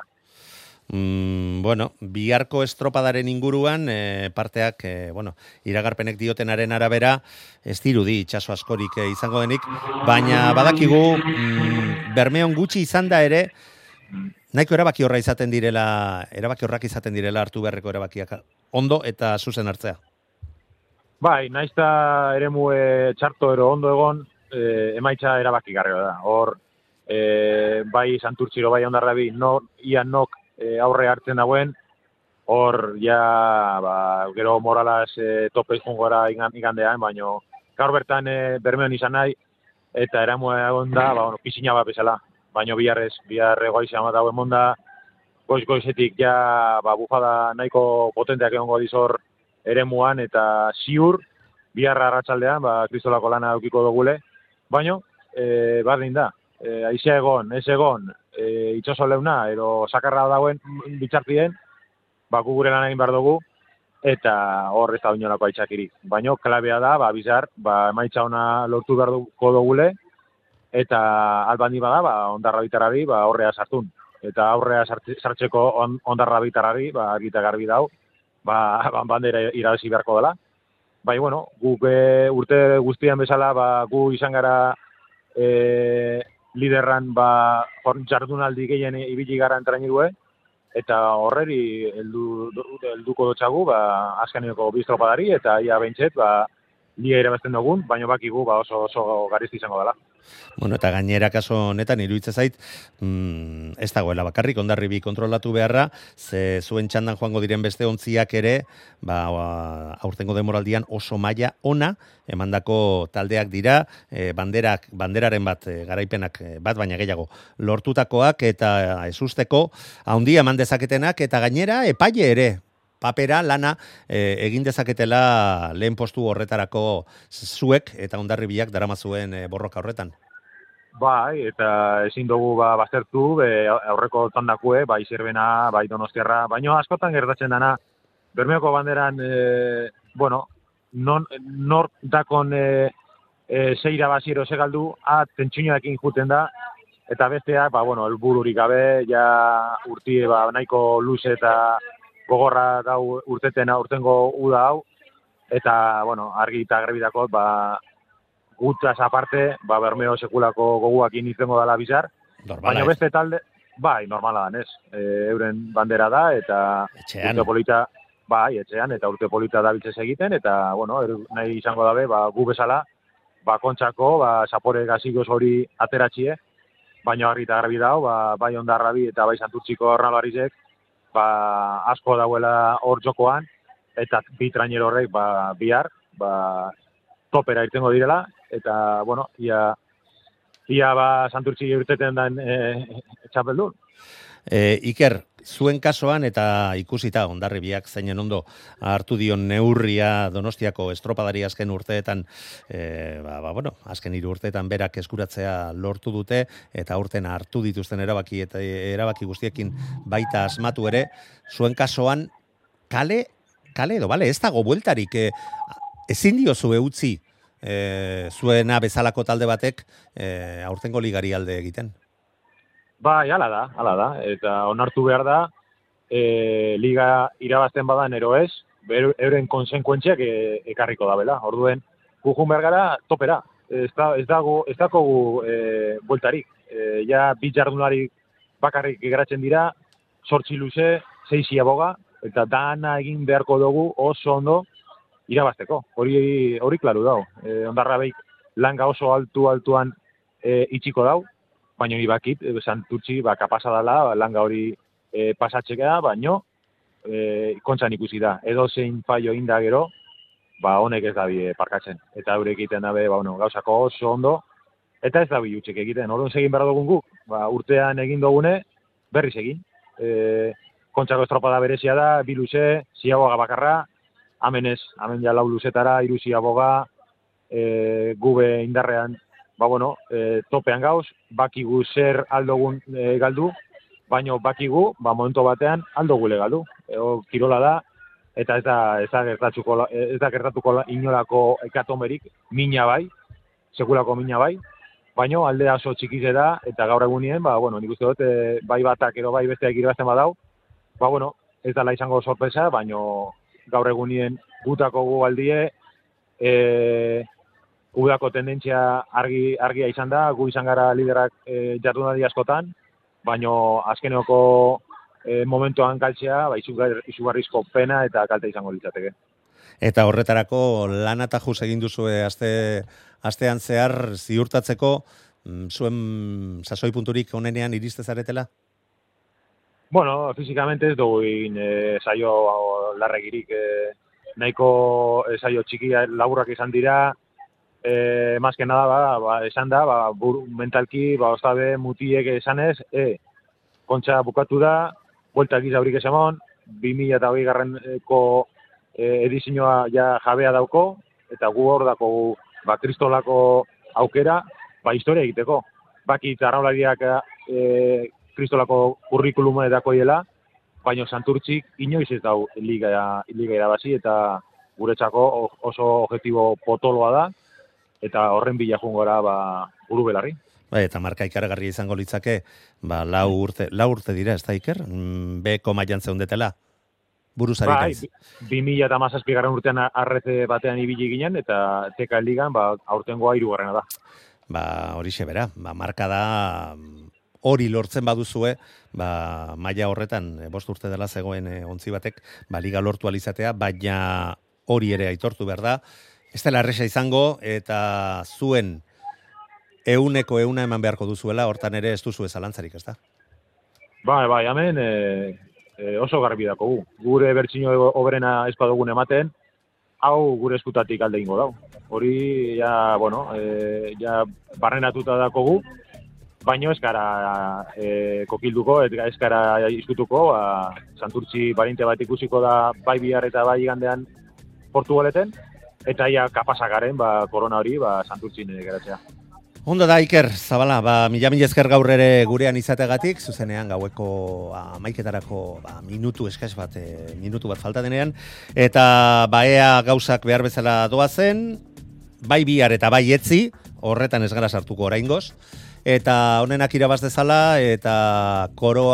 Biharko estropadaren inguruan, parteak, iragarpenek diotenaren arabera, ez dirudi itxaso askorik izango denik, baina badakigu, Bermeon gutxi izan da ere, nahiko erabaki horrak izaten direla hartu beharreko erabakiak ondo eta zuzen hartzea. Bai, naizta eremu txarto ero ondo egon, emaitza erabaki garrioa da. Hor, bai Santurtziro, bai Hondarrabi, ia nok aurre hartzen dauen, hor, gero moralaz tope izkungora igandean, baino gaur bertan Bermeon izan nahi, eta eremu egon da, pisina bat bezala. Baina bihar egoa izan bat dauen monda, goizetik ja bufada nahiko potenteak egongo dizor eremuan eta ziur biharra arratsaldean kristolako lana edukiko dugule, baino berdin da. Haizea egon, ez egon, itxoso leuna edo sakarra dagoen bitxartien, gu gure lan egin behar dugu eta hor ez da inolako aitzakirik. Baino klabea da, bizar, emaitza ona lortu behar dugule eta albandi bada, ondarra bitarari horrea sartun. Eta aurrea sartzeko ondarra bitarari, argita garbi dau, bandera irabazi beharko dela. Bai, bueno, guk urte guztian bezala, gu izan gara liderran jardunaldi gehien ibili gara entrainirue, eta horreri helduko dotxagu, azkeneko biztropadari, eta ia behintzet, liga irabazten dugun, baina bakigu oso garizti izango dela. Bueno, eta gainera kaso honetan iruditzen zait, ez dagoela bakarrik Hondarribi kontrolatu beharra, ze zuen txandan joango diren beste ontziak ere, aurtengo demoraldian oso maila ona emandako taldeak dira, banderaren bat garaipenak bat baina gehiago lortutakoak eta ezusteko handia eman dezaketenak eta gainera epaile ere papera, lana, egin dezaketela lehen postu horretarako zuek eta Hondarribiak daramazuen borroka horretan. Bai, eta ezin dugu baztertu, aurreko tandakue, bai Zerbena, bai Donostiarra, baina askotan gertatzen dana, Bermeoko banderan, nor dakon zeira baziero segaldu, tentsinoekin juten da, eta besteak, helbururik gabe, ja urtie nahiko luze eta gogorra dau urtengo uda hau, eta, argi eta garbi dakot, gutaz aparte, Bermeo sekulako goguakin izango dela bizar, baina beste talde, bai, normala da, euren bandera da, eta urte polita, etxean, eta urte polita dabiltzez egiten, eta, nahi izango dabe, gu bezala, kontsako, zapore gazigoz hori ateratxie, baina argi eta garbi dau, bai Hondarrabi eta bai Santurtziko Arnabarizek, asko dauela hor jokoan, eta bi trainero horrek bihar, topera irtengo direla, eta, ia Santurtzi urteten den txapeldun. Iker, zuen kasuan eta ikusita Hondarribiak zeinen ondo hartu dion neurria Donostiako estropadari azken urteetan, azken 3 urteetan berak eskuratzea lortu dute, eta urten hartu dituzten erabaki guztiekin baita asmatu ere, zuen kasuan kale edo, ez dago bueltarik, ezin diozue utzi zuena bezalako talde batek aurtengo ligari alde egiten. Bai, hala da, eta onartu behar da, liga irabazten badan ero ez, euren konsekuentziak ekarriko da bela. Orduen, gujun behar gara topera, ez dago bueltarik. Ja, bi jardunari bakarrik geratzen dira, 8 luze, 6 aboga, eta dana egin beharko dugu oso ondo irabazteko. Hori klaru dau. Hondarrabeik langa oso altuan itxiko dau, baina hori bakit, Santurtzi kapasa dela langa hori pasatzekea, baina kontzan ikusi da. Edo zein fallo inda gero, honek ez dabi parkatzen. Eta eurek egiten dabe, gauzako oso ondo, eta ez dabi utxek egiten. Orduan segin behar dugun guk, urtean egin dugune, berriz egin. Kontzako estropada berezia da, 2 luze, 6 aboga bakarra, hemen ja 4 luzetara, 3 ziaboga, gube indarrean, topean gauz, bakigu zer aldogun galdu, baina bakigu, momentu batean aldogule galdu. Kirola da, eta ez da gertatuko inolako ekatomerik, mina bai, sekulako mina bai, baina alde oso txikize da, eta gaur egunien, nik uste dut, bai batak edo bai besteak irabazten badau, ez dela izango sorpresa, baina gaur egunien gutako gu aldie, udako tendentzia argia izan da, gu izan gara liderak jardunaldi askotan, baina azkeneko momentuan galtzea, izugarrizko pena eta kalte izango litzateke. Eta horretarako lan atajuz egin duzue astean zehar ziurtatzeko zuen sasoi punturik onenean iriste zaretela? Bueno, físicamente ez dugu saio larregirik, nahiko saio txiki laburrak izan dira, más que nada, esan da, mentalki, ostabe, mutiek esanez, kontxa bukatu da, buelta giza haurik esamon, 2020 garreneko edizioa ja jabea dauko, eta gu hor dako kristolako aukera, historia egiteko. Bakit arraulariak kristolako kurrikuluma edako hiela, baina Santurtzik inoiz ez dau liga irabazi, eta guretzako oso objektibo potoloa da, eta horren bila jungora buru belarri. Eta marka ikaragarria izango litzake, 4 urte dira, ez da Iker? Beko mailan zeundetela, buruzari naiz. 2017 garren urtean arrete batean ibili ginen, eta teka ligan, aurtengoa 3. da. Horixe bera, marka da, hori lortzen baduzue, maila horretan, 5 urte dela zegoen ontzi batek, liga lortu alizatea, baina hori ere aitortu behar da, ez dela erresa izango, eta zuen 100% eman beharko duzuela, hortan ere ez duzu zalantzarik, ez da? Bai, hemen oso garbi dako gu. Gure bertsino oberena ez badugun ematen, hau gure eskutatik alde ingo dau. Hori, ja barrenatuta dako gu, baino ez gara kokilduko, ez gara izkutuko, Santurtzi barinte bat ikusiko da bai bihar eta bai igandean Portugaleten, eta ja kapasakaren korona hori Santurtzin geratzea. Ondo da, Iker, Zabala, mila esker gaur ere gurean izategatik, zuzenean gaueko 11etarako minutu bat falta denean, eta ea gauzak behar bezala doazen, bai bihar eta bai etzi, horretan ez gara sartuko oraingoz, eta honenak irabaz dezala, eta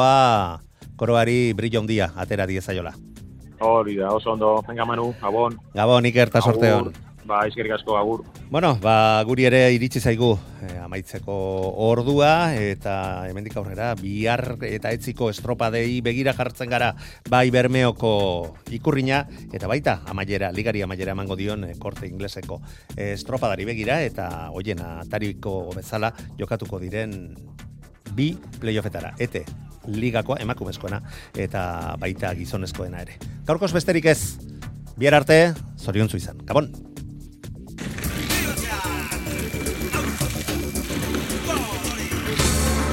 koroari brillo handia atera diezaiola. Hori da, oso ondo, venga Manu, Gabon. Gabon, Iker, eta sorteon. Eskerrik asko, agur. Bueno, guri ere iritsi zaigu amaitzeko ordua, eta hemendik aurrera bihar eta etziko estropadei begira jartzen gara, bai Bermeoko ikurrina, eta baita ligari amaiera emango dion Korte Ingleseko estropadari begira, eta hoiena tariko bezala jokatuko diren 2 playoffetara, ete ligakoa emakumezkoena, eta baita gizonezkoena ere. Gaurkoz besterik ez, bihar arte, zoriontsu izan. Gabon!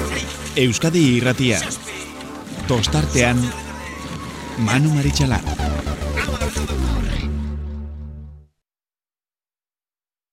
Euskadi Irratia. Tostartean Manu Maritxalar.